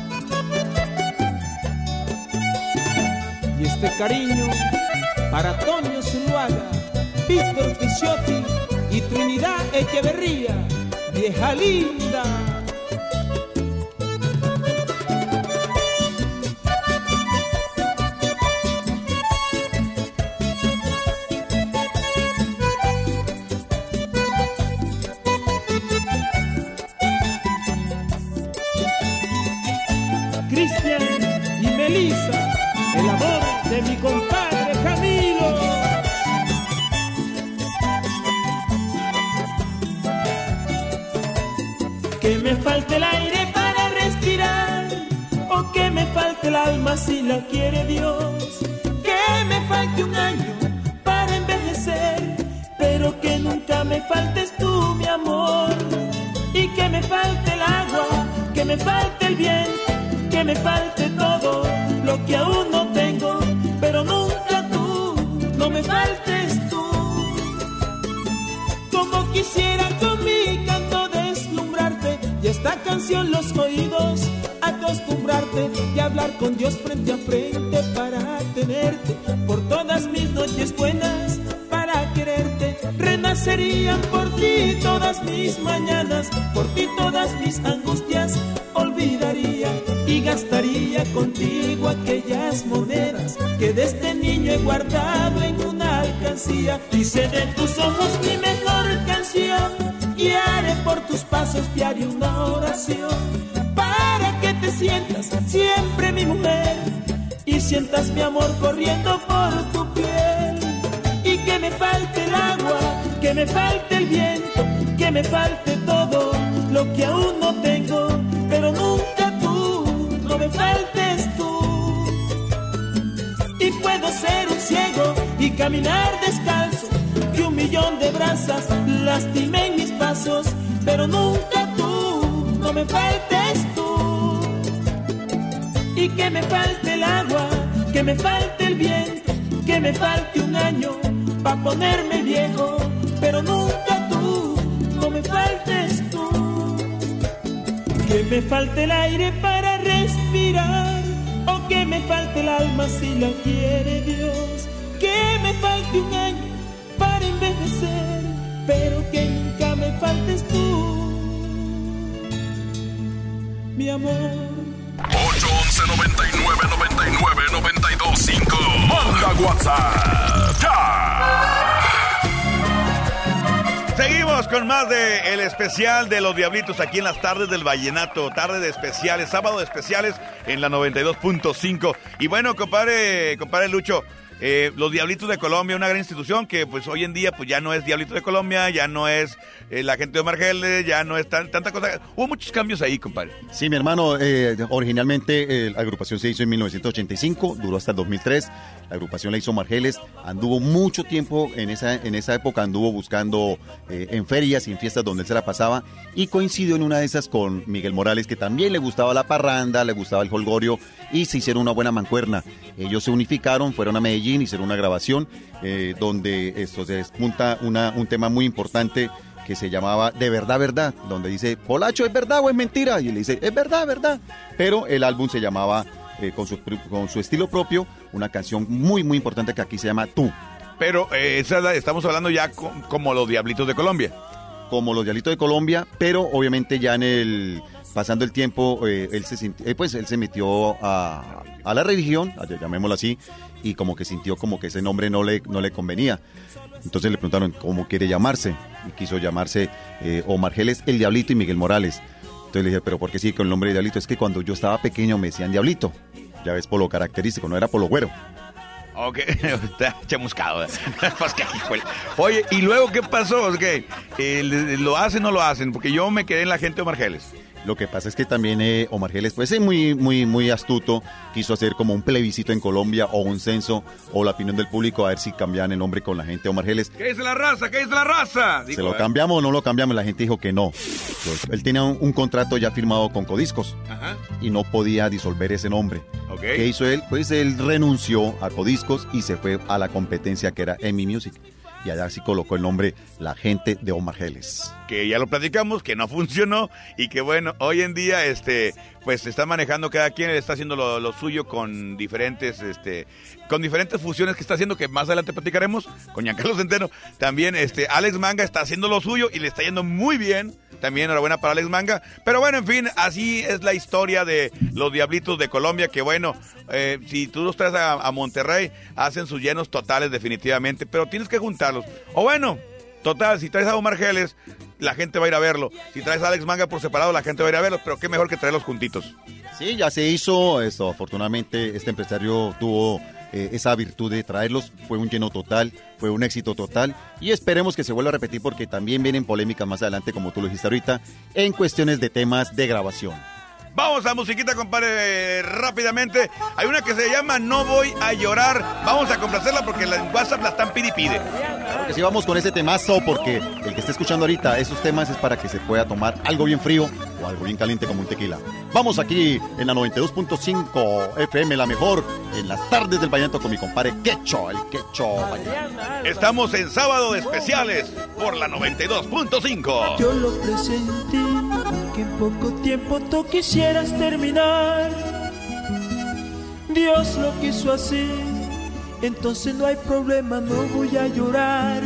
Y este cariño para Toño Zuluaga, Víctor Picciotti y Trinidad Echeverría, vieja linda. Cristian y Melissa, el amor de mi compadre Camilo. Que me falte el aire para respirar, o que me falte el alma si la quiere Dios, que me falte un año para envejecer, pero que nunca me faltes tú, mi amor. Y que me falte el agua, que me falte el viento, que me falte todo lo que aún no tengo, pero nunca tú, no me faltes tú. Como quisiera con mi canto deslumbrarte, y esta canción los oídos acostumbrarte, y hablar con Dios frente a frente para tenerte, por todas mis noches buenas para quererte. Renacerían por ti todas mis mañanas, por ti todas mis angustias olvidaría, y gastaría contigo aquellas monedas que desde niño he guardado en una alcancía. Hice de tus ojos mi mejor canción canción y haré por tus pasos diario una oración, para que te sientas siempre mi mujer y sientas mi amor corriendo por tu piel. Y que me falte el agua, que me falte el viento, que me falte todo lo que aún no tengo, pero nunca tú, no me faltes tú. Y puedo ser un ciego y caminar descalzo, que 1.000.000 de brasas lastimen mis pasos, pero nunca tú, no me faltes tú. Y que me falte el agua, que me falte el viento, que me falte un año pa' ponerme viejo, pero nunca tú, no me faltes tú. Que me falte el aire para respirar, o que me falte el alma si la quiere Dios. Que me falte un año para envejecer, pero que nunca me faltes tú, mi amor. 811-99-99-925. Manda WhatsApp ya. Seguimos con más de el especial de los Diablitos aquí en las tardes del Vallenato. Tarde de especiales, sábado de especiales en la 92.5. Y bueno, compadre Lucho, los Diablitos de Colombia, una gran institución que pues hoy en día pues ya no es Diablitos de Colombia, ya no es la gente de Omar Geles, ya no es tanta cosa. Hubo muchos cambios ahí, compadre. Sí, mi hermano, originalmente la agrupación se hizo en 1985, duró hasta el 2003. La agrupación la hizo Omar Geles, anduvo mucho tiempo en esa época, anduvo buscando en ferias y en fiestas donde él se la pasaba, y coincidió en una de esas con Miguel Morales, que también le gustaba la parranda, le gustaba el jolgorio, y se hicieron una buena mancuerna. Ellos se unificaron, fueron a Medellín, hicieron una grabación donde esto se despunta un tema muy importante que se llamaba De Verdad, Verdad, donde dice, Polacho, ¿es verdad o es mentira? Y él dice, es verdad, verdad. Pero el álbum se llamaba, con su estilo propio, una canción muy, muy importante que aquí se llama Tú. Pero estamos hablando ya como los Diablitos de Colombia. Como los Diablitos de Colombia, pero obviamente ya pasando el tiempo, él se metió a la religión, llamémoslo así, y como que sintió como que ese nombre no le convenía. Entonces le preguntaron cómo quiere llamarse, y quiso llamarse Omar Geles, el Diablito, y Miguel Morales. Entonces le dije, ¿pero por qué sigue con el nombre de Diablito? Es que cuando yo estaba pequeño me decían Diablito, ya ves, por lo característico, no era por lo güero. Ok, está chamuscado. Oye, ¿y luego qué pasó? ¿Lo hacen o no lo hacen? Porque yo me quedé en la gente de Omar Geles. Lo que pasa es que también Omar Geles, pues es muy, muy, muy astuto, quiso hacer como un plebiscito en Colombia o un censo o la opinión del público a ver si cambiaban el nombre con la gente de Omar Geles. ¿Qué dice la raza? ¿Qué dice la raza? Dijo, ¿se lo cambiamos o no lo cambiamos? La gente dijo que no. Entonces, él tenía un contrato ya firmado con Codiscos. Ajá. Y no podía disolver ese nombre. Okay. ¿Qué hizo él? Pues él renunció a Codiscos y se fue a la competencia que era EMI Music. Y allá sí colocó el nombre La Gente de Omar Geles. Que ya lo platicamos, que no funcionó y que bueno, hoy en día pues se está manejando, cada quien está haciendo lo suyo con diferentes fusiones que está haciendo, que más adelante platicaremos con Giancarlo Centeno. También Alex Manga está haciendo lo suyo y le está yendo muy bien. También enhorabuena para Alex Manga. Pero bueno, en fin, así es la historia de los Diablitos de Colombia, que bueno, si tú los traes a Monterrey, hacen sus llenos totales definitivamente, pero tienes que juntarlos. O bueno, total, si traes a Omar Geles, la gente va a ir a verlo. Si traes a Alex Manga por separado, la gente va a ir a verlos, pero qué mejor que traerlos juntitos. Sí, ya se hizo esto. Afortunadamente, este empresario tuvo esa virtud de traerlos. Fue un lleno total, fue un éxito total. Y esperemos que se vuelva a repetir porque también vienen polémicas más adelante, como tú lo dijiste ahorita, en cuestiones de temas de grabación. Vamos a musiquita, compadre, rápidamente. Hay una que se llama No Voy a Llorar. Vamos a complacerla porque en WhatsApp la están pide. Claro que sí, vamos con ese temazo porque el que está escuchando ahorita esos temas es para que se pueda tomar algo bien frío o algo bien caliente como un tequila. Vamos aquí en la 92.5 FM, la mejor, en las tardes del Vallenato con mi compadre Quecho, el Quecho Vallenato. Estamos en sábado de especiales por la 92.5. Yo lo presentí, que en poco tiempo tú quisieras terminar. Dios lo quiso así, entonces no hay problema, no voy a llorar.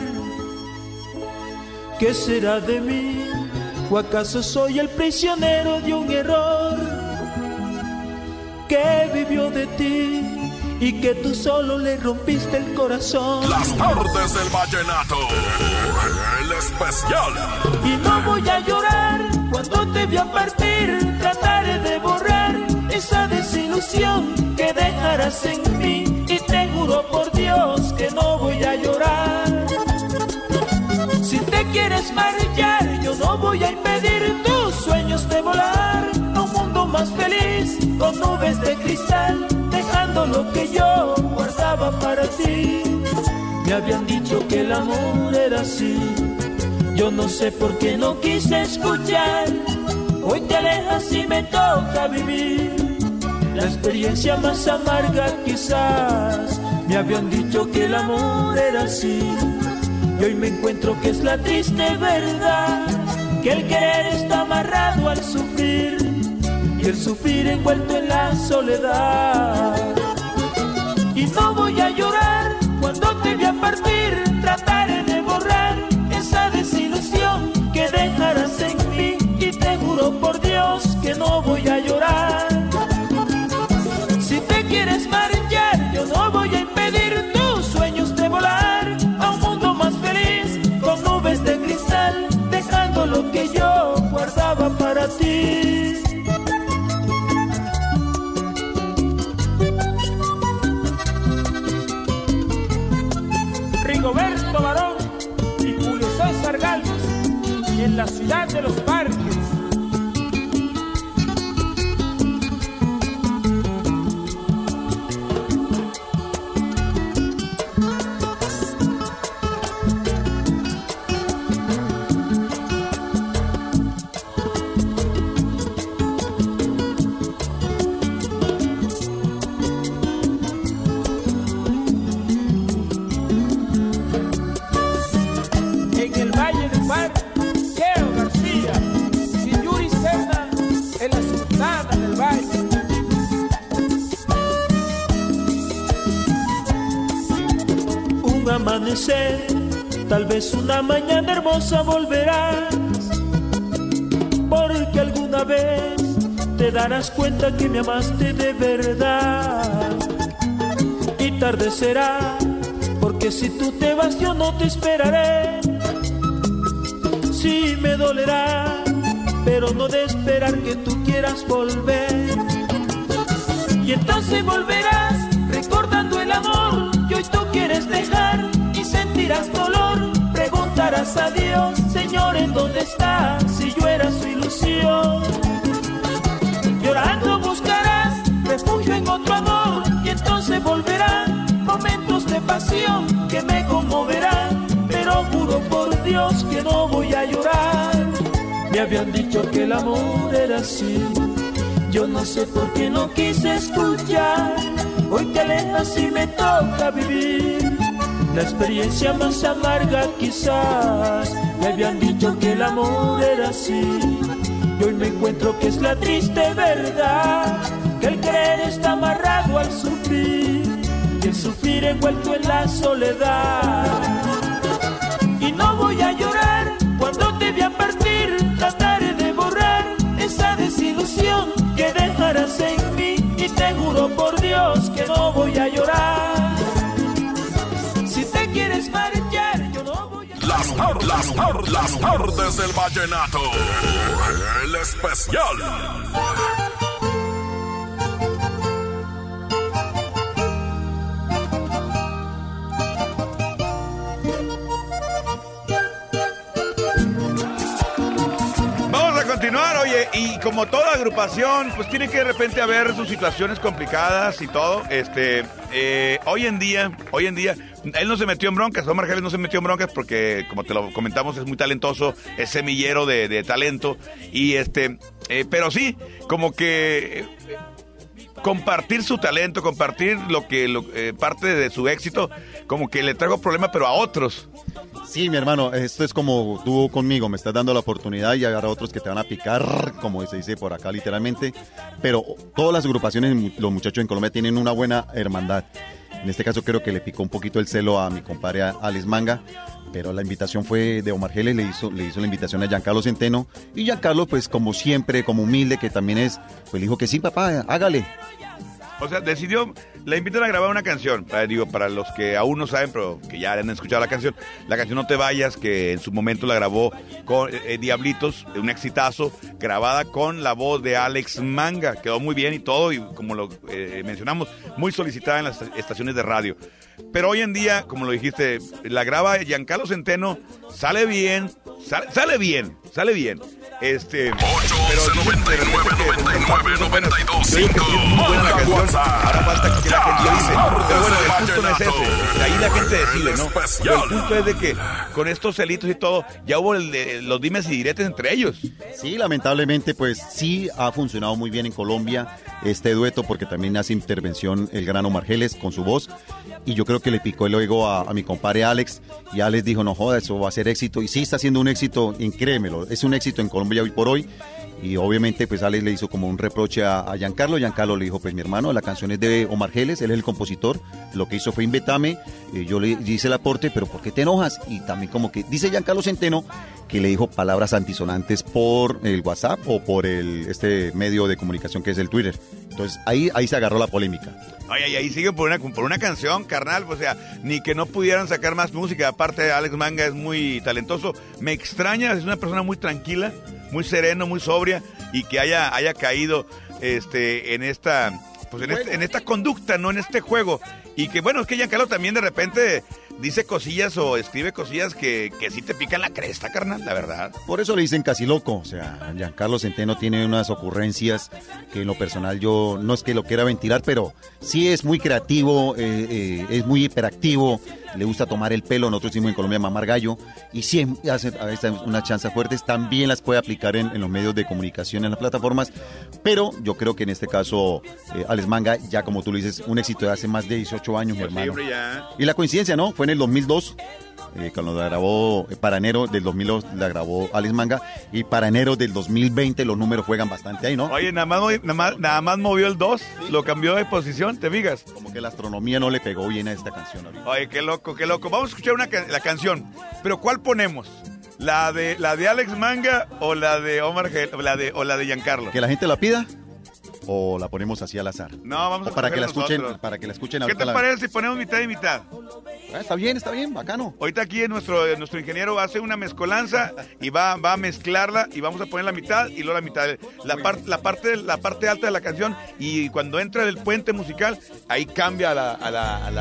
¿Qué será de mí? ¿O acaso soy el prisionero de un error que vivió de ti y que tú solo le rompiste el corazón. Las tardes del vallenato, el especial. Y no voy a llorar cuando te vea partir, trataré de borrar esa desilusión que dejarás en mí, y te juro por Dios que no voy a llorar. Si te quieres marchar, yo no voy a impedir tus sueños de volar a un mundo más feliz, con nubes de cristal, dejando lo que yo guardaba para ti. Me habían dicho que el amor era así, yo no sé por qué no quise escuchar. Hoy te alejas y me toca vivir la experiencia más amarga quizás. Me habían dicho que el amor era así, y hoy me encuentro que es la triste verdad, que el querer está amarrado al sufrir, y el sufrir envuelto en la soledad. Y no voy a llorar cuando te vea partir, trataré de borrar esa desilusión que dejarás en mí, y te juro por Dios que no voy a llorar. Si te quieres marchar, yo no voy a impedir tus sueños de volar a un mundo más feliz, con nubes de cristal, dejando lo que yo guardaba para ti. Rigoberto Barón y Julio César Galvez, en la ciudad de los parques. Amanecer, tal vez una mañana hermosa volverás, porque alguna vez te darás cuenta que me amaste de verdad. Y tarde será, porque si tú te vas yo no te esperaré. Sí me dolerá, pero no de esperar que tú quieras volver. Y entonces volverás recordando el amor que hoy tú quieres dejar, y sentirás dolor, preguntarás a Dios, Señor, ¿en dónde estás? Si yo era su ilusión. Llorando buscarás refugio en otro amor, y entonces volverán momentos de pasión que me conmoverán, pero juro por Dios que no voy a llorar. Me habían dicho que el amor era así, yo no sé por qué no quise escuchar. Hoy te alejas y me toca vivir la experiencia más amarga quizás. Me habían dicho que el amor era así, y hoy me encuentro que es la triste verdad, que el querer está amarrado al sufrir, y el sufrir envuelto en la soledad. Y no voy a llorar cuando te vea partir, trataré de borrar esa desilusión que dejarás en mí, y te juro por Dios que no voy a llorar. Si te quieres marchar, yo no voy a... Las tardes del vallenato, el especial. Continuar, oye, y como toda agrupación, pues tiene que de repente haber sus situaciones complicadas y todo. Hoy en día, él no se metió en broncas, Omar Geles no se metió en broncas porque, como te lo comentamos, es muy talentoso, es semillero de talento, y pero sí, como que compartir su talento, compartir parte de su éxito, como que le traigo problema, pero a otros. Sí, mi hermano, esto es como tú conmigo, me estás dando la oportunidad y habrá otros que te van a picar, como se dice por acá literalmente, pero todas las agrupaciones, los muchachos en Colombia tienen una buena hermandad. En este caso creo que le picó un poquito el celo a mi compadre Alex Manga, pero la invitación fue de Omar Geles, le hizo la invitación a Giancarlo Centeno, y Giancarlo, pues como siempre, como humilde que también es, pues le dijo que sí, papá, hágale. O sea, decidió la invitan a grabar una canción, para los que aún no saben, pero que ya han escuchado la canción No Te Vayas, que en su momento la grabó con Diablitos, un exitazo, grabada con la voz de Alex Manga, quedó muy bien y todo, y como lo mencionamos, muy solicitada en las estaciones de radio. Pero hoy en día, como lo dijiste, la graba Giancarlo Centeno, sale bien. 899-99-92-5. Ahora falta que la gente lo dice. Pero bueno, el punto no es ese. Ahí la gente decide, ¿no? Pero el punto es de que con estos celitos y todo, ya hubo los dimes y diretes entre ellos. Sí, lamentablemente, pues sí ha funcionado muy bien en Colombia este dueto, porque también hace intervención el gran Omar Geles con su voz. Y yo creo que le picó el ego a mi compadre Alex, y Alex dijo, no joda, eso va a ser éxito, y sí está siendo un éxito, créemelo, es un éxito en Colombia hoy por hoy. Y obviamente pues Alex le hizo como un reproche a Giancarlo. Giancarlo le dijo, pues mi hermano, la canción es de Omar Geles, él es el compositor, lo que hizo fue invetame, yo le hice el aporte, pero ¿por qué te enojas? Y también como que dice Giancarlo Centeno que le dijo palabras antisonantes por el WhatsApp o por este medio de comunicación que es el Twitter. Entonces ahí se agarró la polémica. Oye, y ahí siguen por una canción, carnal, o sea, ni que no pudieran sacar más música. Aparte, Alex Manga es muy talentoso. Me extraña, es una persona muy tranquila, muy sereno, muy sobria, y que haya caído en esta conducta, no en este juego. Y que bueno, es que Giancarlo también de repente dice cosillas o escribe cosillas que sí te pican la cresta, carnal, la verdad. Por eso le dicen casi loco. O sea, Giancarlo Centeno tiene unas ocurrencias que en lo personal yo no es que lo quiera ventilar, pero sí es muy creativo, es muy hiperactivo, le gusta tomar el pelo, nosotros decimos en Colombia mamar gallo, y sí hace a veces unas chanzas fuertes, también las puede aplicar en los medios de comunicación, en las plataformas, pero yo creo que en este caso Alex Manga, ya como tú lo dices, un éxito de hace más de 18 años, mi hermano. Y la coincidencia, ¿no? Fue en el 2002, cuando la grabó, para enero del 2002 la grabó Alex Manga, y para enero del 2020 los números juegan bastante ahí, ¿no? Oye, nada más movió el 2, sí. Lo cambió de posición, ¿te fijas? Como que la astronomía no le pegó bien a esta canción ahorita. Oye, qué loco. Vamos a escuchar la canción, pero ¿cuál ponemos? ¿La de Alex Manga o la de Omar Geles, o la de Giancarlo? Que la gente la pida. ¿O la ponemos así al azar? No, vamos a para que la escuchen, nosotros. Para que la escuchen ahorita. ¿Qué te parece si ponemos mitad y mitad? Está bien, bacano. Ahorita aquí nuestro ingeniero hace una mezcolanza y va a mezclarla y vamos a poner la mitad y luego la mitad. La parte alta de la canción, y cuando entra el puente musical, ahí cambia a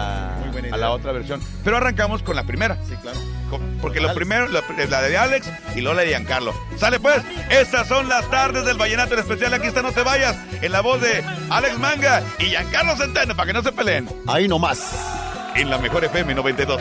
la otra versión. Pero arrancamos con la primera. Sí, claro. Porque lo primero, la de Alex y luego la de Giancarlo. ¿Sale pues? Estas son las tardes del Vallenato en especial. Aquí está No Te Vayas, en la voz de Alex Manga y Giancarlo Centeno, para que no se peleen. Ahí nomás. En la mejor FM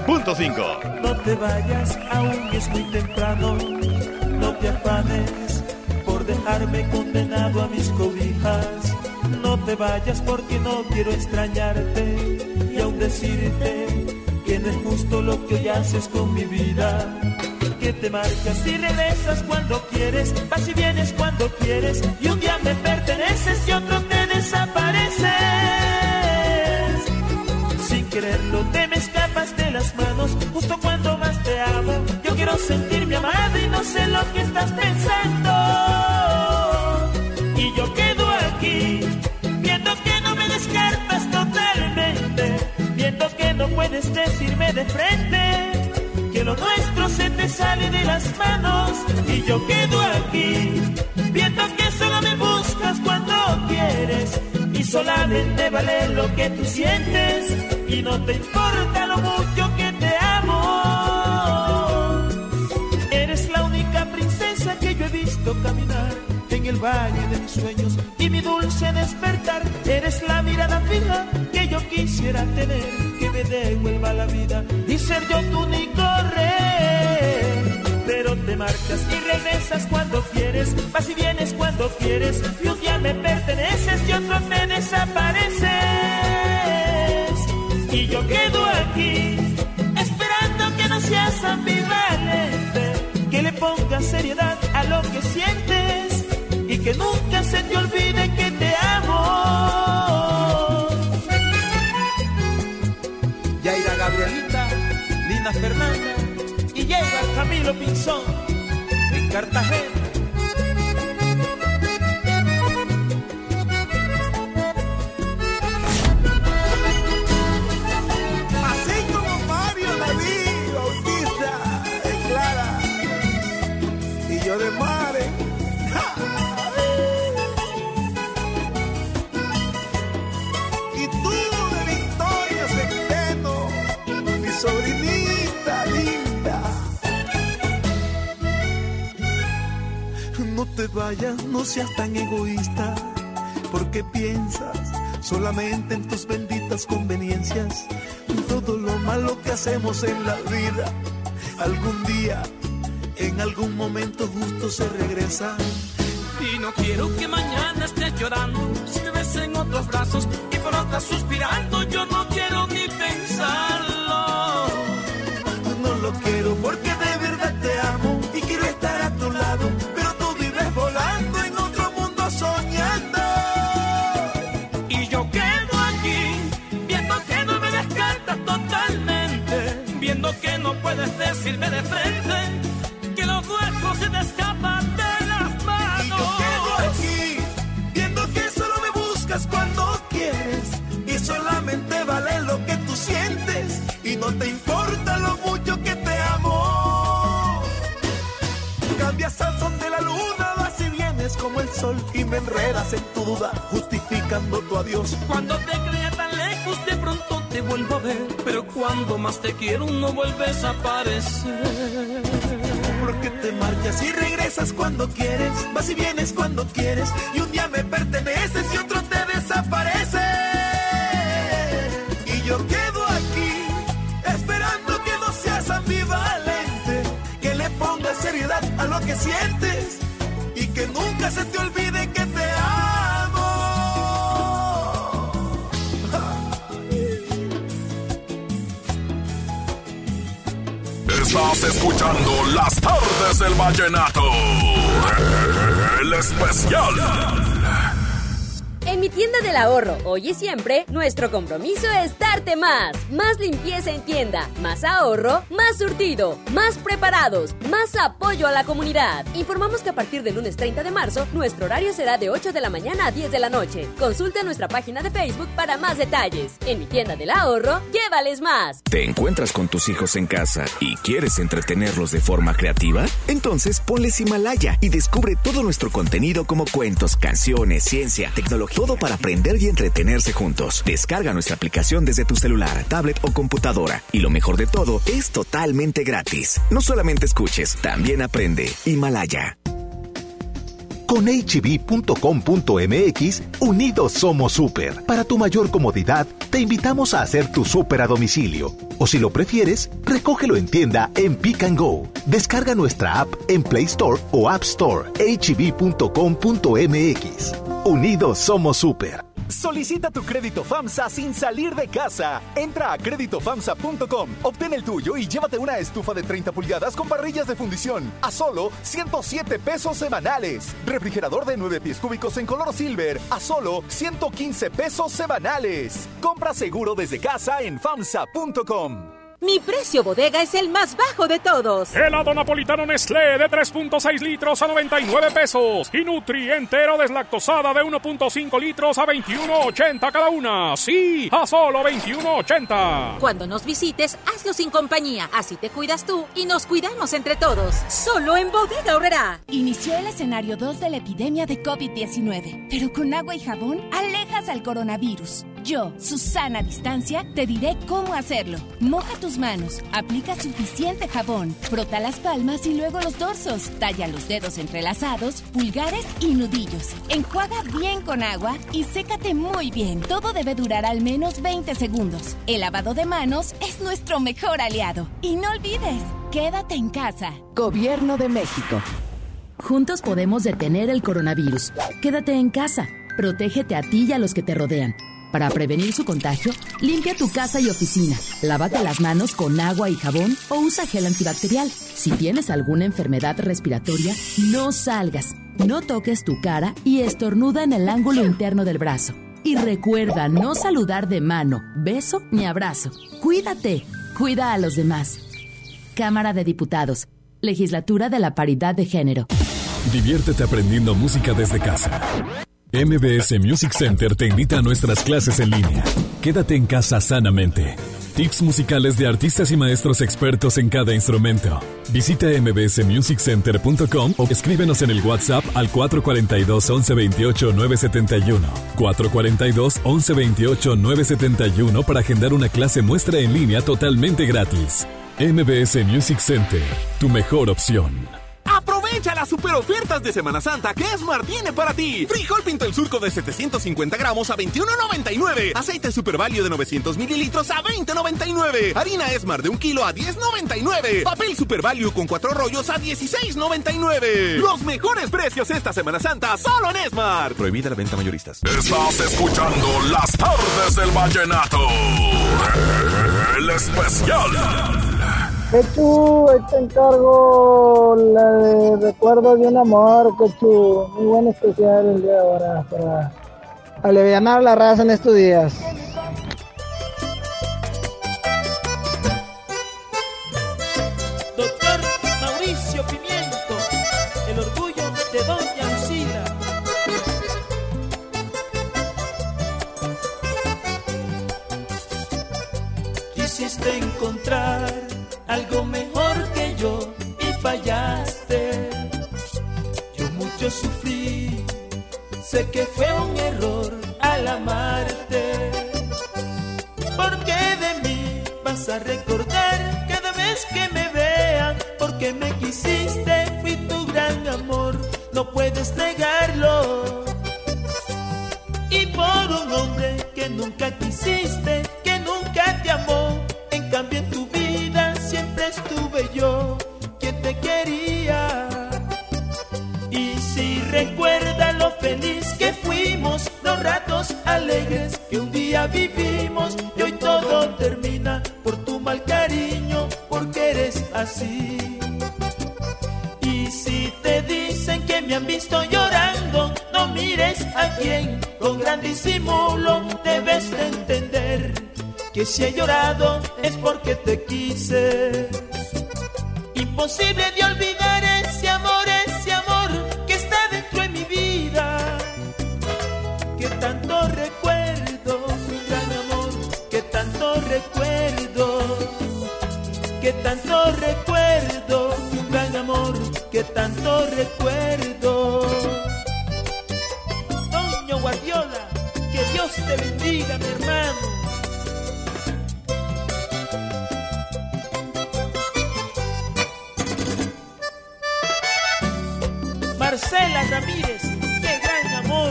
92.5. No te vayas, aún es muy temprano. No te afanes por dejarme condenado a mis cobijas. No te vayas porque no quiero extrañarte y aún decirte que no es justo lo que hoy haces con mi vida. Que te marcas y regresas cuando quieres, vas y vienes cuando quieres, y un día me perteneces y otro te desapareces. Sin quererlo te me escapas de las manos, justo cuando más te amo. Yo quiero sentirme amado y no sé lo que estás pensando. Y yo quedo aquí, viendo que no me descartas totalmente, viendo que no puedes decirme de frente que lo nuestro se te sale de las manos. Y yo quedo aquí, viendo que solo me buscas cuando quieres, y solamente vale lo que tú sientes, y no te importa lo mucho que te amo. Eres la única princesa que yo he visto caminar en el valle de mis sueños y mi dulce despertar. Eres la mirada fija que yo quisiera tener, que me devuelva la vida y ser yo tu único rey. Pero te marcas y regresas cuando quieres, vas y vienes cuando quieres, y un día me perteneces y otro me desapareces. Y yo quedo aquí, esperando que no seas ambivalente, que le pongas seriedad a lo que sientes y que nunca se te olvide que te amo. Yaira Gabrielita, Lina Fernanda y llega Camilo Pinzón en Cartagena. vayas, no seas tan egoísta, porque piensas solamente en tus benditas conveniencias. Todo lo malo que hacemos en la vida, algún día, en algún momento justo se regresa. Y no quiero que mañana estés llorando, si me ves en otros brazos y por otras suspirando. Yo no quiero ni pensarlo. No lo quiero porque de verdad te amo y quiero estar a tu lado, pero tú vives volando en otro mundo soñando. Y yo quedo aquí, viendo que no me descartas totalmente, viendo que no puedes decirme de frente que lo nuestro se te escapa de las manos. Y yo quedo aquí, viendo que solo me buscas cuando quieres y solamente vale lo que tú sientes y no te importa lo mucho que te amo. Cambias al son de la luna, vas y vienes como el sol y me enredas en tu duda, justificando tu adiós. Cuando te creía tan lejos, de pronto te vuelvo a ver, pero cuando más te quiero no vuelves a aparecer. Porque te marchas y regresas cuando quieres, vas y vienes cuando quieres, y un día me perteneces y otro te desaparece. Y yo quedo aquí, esperando que no seas ambivalente, que le pongas seriedad a lo que sientes y que nunca se te olvide que te amo. Estás escuchando Las Tardes del Vallenato, el especial. En mi tienda del ahorro, hoy y siempre, nuestro compromiso es darte más. Más limpieza en tienda, más ahorro, más surtido, más preparados, más apoyo a la comunidad. Informamos que a partir del lunes 30 de marzo, nuestro horario será de 8 de la mañana a 10 de la noche. Consulta nuestra página de Facebook para más detalles. En mi tienda del ahorro, llévales más. ¿Te encuentras con tus hijos en casa y quieres entretenerlos de forma creativa? Entonces ponles Himalaya y descubre todo nuestro contenido como cuentos, canciones, ciencia, tecnología, todo para aprender y entretenerse juntos. Descarga nuestra aplicación desde tu celular, tablet o computadora. Y lo mejor de todo, es totalmente gratis. No solamente escuches, también aprende. Himalaya. Con HB.com.mx, unidos somos súper. Para tu mayor comodidad, te invitamos a hacer tu súper a domicilio. O si lo prefieres, recógelo en tienda en Pick and Go. Descarga nuestra app en Play Store o App Store. HB.com.mx. Unidos somos súper. Solicita tu crédito FAMSA sin salir de casa. Entra a creditofamsa.com, obtén el tuyo y llévate una estufa de 30 pulgadas con parrillas de fundición a solo 107 pesos semanales. Refrigerador de 9 pies cúbicos en color silver a solo 115 pesos semanales. Compra seguro desde casa en FAMSA.com. Mi precio bodega es el más bajo de todos. Helado napolitano Nestlé de 3.6 litros a 99 pesos. Y Nutri entero deslactosada de 1.5 litros a 21.80 cada una. Sí, a solo 21.80. Cuando nos visites, hazlo sin compañía. Así te cuidas tú y nos cuidamos entre todos. Solo en Bodega Aurrerá. Inició el escenario 2 de la epidemia de COVID-19. Pero con agua y jabón, alejas al coronavirus. Yo, Susana Distancia, te diré cómo hacerlo. Moja tus manos, aplica suficiente jabón, frota las palmas y luego los dorsos, talla los dedos entrelazados, pulgares y nudillos. Enjuaga bien con agua y sécate muy bien. Todo debe durar al menos 20 segundos. El lavado de manos es nuestro mejor aliado. Y no olvides, quédate en casa. Gobierno de México. Juntos podemos detener el coronavirus. Quédate en casa. Protégete a ti y a los que te rodean. Para prevenir su contagio, limpia tu casa y oficina. Lávate las manos con agua y jabón o usa gel antibacterial. Si tienes alguna enfermedad respiratoria, no salgas. No toques tu cara y estornuda en el ángulo interno del brazo. Y recuerda no saludar de mano, beso ni abrazo. Cuídate. Cuida a los demás. Cámara de Diputados. Legislatura de la Paridad de Género. Diviértete aprendiendo música desde casa. MBS Music Center te invita a nuestras clases en línea. Quédate en casa sanamente. Tips musicales de artistas y maestros expertos en cada instrumento. Visita mbsmusiccenter.com o escríbenos en el WhatsApp al 442-1128-971. 442-1128-971 para agendar una clase muestra en línea totalmente gratis. MBS Music Center, tu mejor opción. Aprovecha Aprovecha las super ofertas de Semana Santa que Esmar tiene para ti. Frijol Pinto el Surco de 750 gramos a $21.99. Aceite Super Value de 900 mililitros a $20.99. Harina Esmar de 1 kilo a $10.99. Papel Super Value con 4 rollos a $16.99. Los mejores precios esta Semana Santa solo en Esmar. Prohibida la venta mayoristas. Estás escuchando Las Tardes del Vallenato. El especial. Quechu, ahí te encargo la de Recuerdo de un Amor, Quechu. Muy buen especial el día de ahora para alivianar la raza en estos días. Doctor Mauricio Pimiento, el orgullo de Doña Lucila. Quisiste encontrar algo mejor que yo y fallaste. Yo mucho sufrí, sé que fue un error al amarte. Porque de mí vas a recordar cada vez que me vean. Porque me quisiste, fui tu gran amor, no puedes negarlo. Y por un hombre que nunca quisiste, que nunca te amó, en cambio en tu vida siempre estuve yo, quien te quería. Y si recuerda lo feliz que fuimos, los ratos alegres que un día vivimos, y hoy todo termina por tu mal cariño, porque eres así. Y si te dicen que me han visto llorando, no mires a quien con gran disimulo, debes de entender que si he llorado es porque te quise. Imposible de olvidar ese amor que está dentro de mi vida, que tanto recuerdo, mi gran amor, que tanto recuerdo, que tanto recuerdo, mi gran amor, que tanto recuerdo. Toño Guardiola, que Dios te bendiga, mi hermano. Marcela Ramírez, qué gran amor.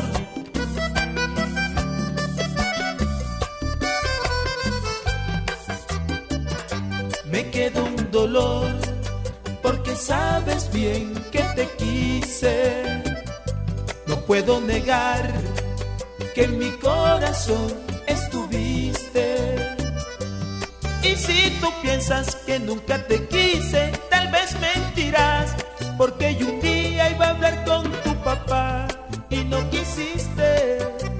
Me quedó un dolor, porque sabes bien que te quise. No puedo negar que en mi corazón estuviste. Y si tú piensas que nunca te quise, tal vez mentirás, porque yo un día iba a hablar con tu papá y no quisiste.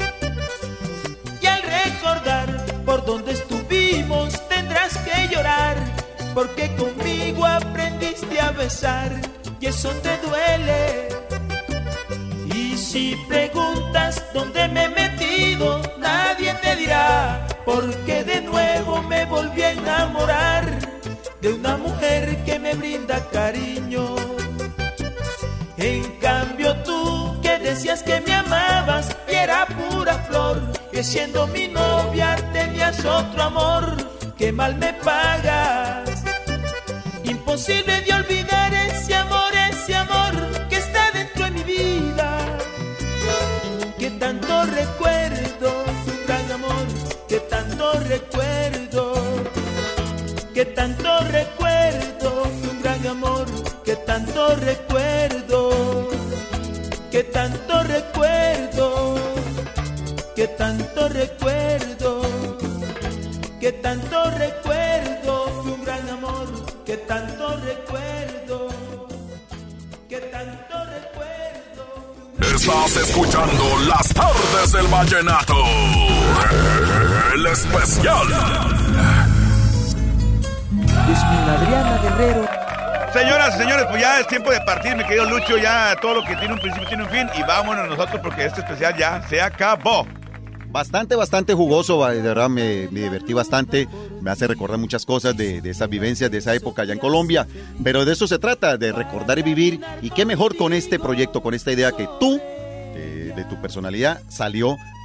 Y al recordar por donde estuvimos, tendrás que llorar, porque conmigo aprendiste a besar y eso te duele. Y si preguntas dónde me he metido, nadie te dirá, porque de nuevo me volví a enamorar de una mujer que me brinda cariño. En cambio tú, que decías que me amabas y era pura flor, que siendo mi novia tenías otro amor, que mal me pagas. Imposible de olvidar ese amor que está dentro de mi vida, que tanto recuerdo, tu gran amor, que tanto recuerdo, que tanto recuerdo, tu gran amor, que tanto recuerdo, que tanto recuerdo, que tanto recuerdo, que tanto recuerdo, fue un gran amor, que tanto recuerdo, que tanto recuerdo. Estás escuchando Las Tardes del Vallenato, el especial. Yasmín Adriana Guerrero. Señoras y señores, pues ya es tiempo de partir, mi querido Lucho. Ya todo lo que tiene un principio tiene un fin. Y vámonos nosotros porque este especial ya se acabó. Bastante jugoso, de verdad me divertí bastante, me hace recordar muchas cosas de esas vivencias, de esa época allá en Colombia, pero de eso se trata, de recordar y vivir, y qué mejor con este proyecto, con esta idea que tú, de tu personalidad, salió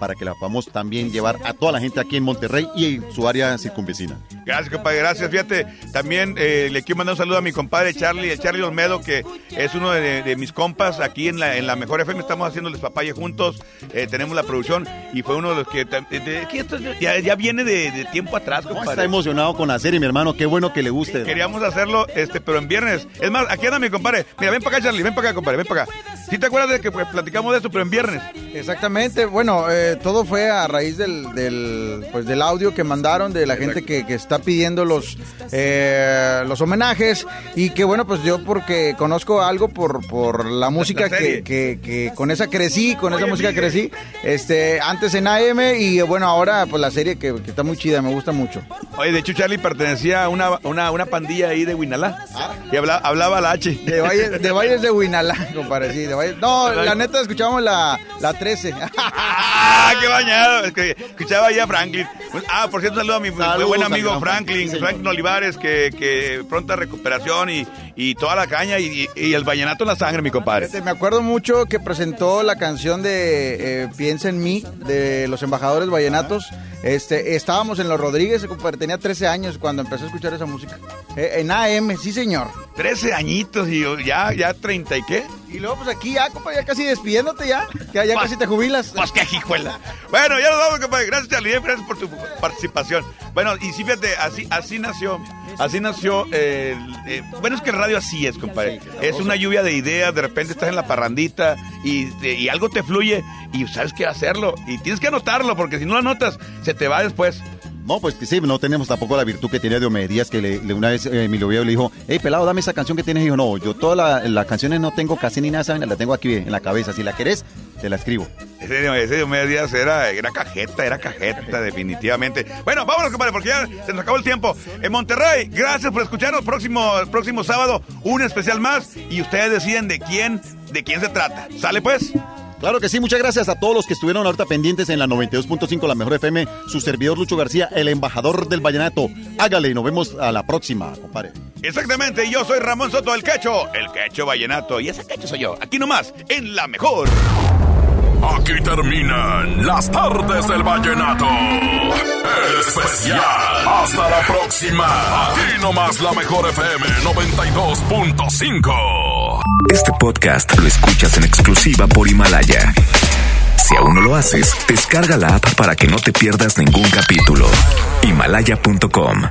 para que la podamos también llevar a toda la gente aquí en Monterrey y en su área circunvecina. Gracias, compadre, gracias. Fíjate, también le quiero mandar un saludo a mi compadre Charlie, el Charlie Olmedo, que es uno de mis compas aquí en la Mejor FM. Estamos haciéndoles papaye juntos, tenemos la producción y fue uno de los que ya viene de tiempo atrás, compadre. Está emocionado con la serie, mi hermano, qué bueno que le guste. Queríamos hacerlo, pero en viernes. Es más, aquí anda mi compadre. Mira, ven para acá, Charlie, ven para acá, compadre, ven para acá. ¿Sí te acuerdas de que platicamos de esto, pero en viernes? Exactamente, bueno, todo fue a raíz del audio que mandaron de la gente que está pidiendo los homenajes y que bueno, pues yo porque conozco algo por la música que con esa crecí, con esa música crecí, antes en AM y bueno, ahora pues la serie que está muy chida, me gusta mucho. Oye, de hecho Charlie pertenecía a una pandilla ahí de Huinalá y hablaba la H. De Valles de Huinalá, compadre, sí, de Valles. No, la neta escuchábamos la 13. ¡Ah, qué bañado! Es que escuchaba ahí a Franklin. Por cierto, un saludo a mi buen amigo Franklin Olivares, que pronta recuperación y toda la caña y el vallenato en la sangre, mi compadre. Me acuerdo mucho que presentó la canción de Piensa en mí, de los embajadores vallenatos. Estábamos en Los Rodríguez, compadre, tenía 13 años cuando empecé a escuchar esa música. En AM, sí señor. 13 añitos y ya 30 y qué. Y luego pues aquí ya, compadre, ya casi despidiéndote ya casi te jubilas. Pues qué hijuela. Bueno, ya nos vamos, compadre. Gracias, Charlie, gracias por tu participación. Bueno, y sí, fíjate, así nació. Bueno, es que el radio así es, compadre. Es una lluvia de ideas, de repente estás en la parrandita y algo te fluye y sabes qué hacerlo. Y tienes que anotarlo, porque si no lo anotas, se te va después. No, pues que sí, no tenemos tampoco la virtud que tenía Diomedes, que una vez Emilio Viejo le dijo, hey, pelado, dame esa canción que tienes. Y dijo, no, yo todas las canciones no tengo casi ni nada, ¿saben? La tengo aquí en la cabeza. Si la querés, te la escribo. Ese Diomedes era cajeta, definitivamente. Bueno, vámonos, compadre, porque ya se nos acabó el tiempo. En Monterrey, gracias por escucharnos. Próximo sábado, un especial más. Y ustedes deciden de quién se trata. ¿Sale, pues? Claro que sí, muchas gracias a todos los que estuvieron ahorita pendientes en la 92.5, la Mejor FM, su servidor Lucho García, el embajador del vallenato. Hágale y nos vemos a la próxima, compadre. Exactamente, yo soy Ramón Soto, el Quecho Vallenato, y ese Quecho soy yo, aquí nomás, en La Mejor. Aquí terminan las tardes del vallenato. El especial. Hasta la próxima. Aquí nomás La Mejor FM 92.5. Este podcast lo escuchas en exclusiva por Himalaya. Si aún no lo haces, descarga la app para que no te pierdas ningún capítulo. Himalaya.com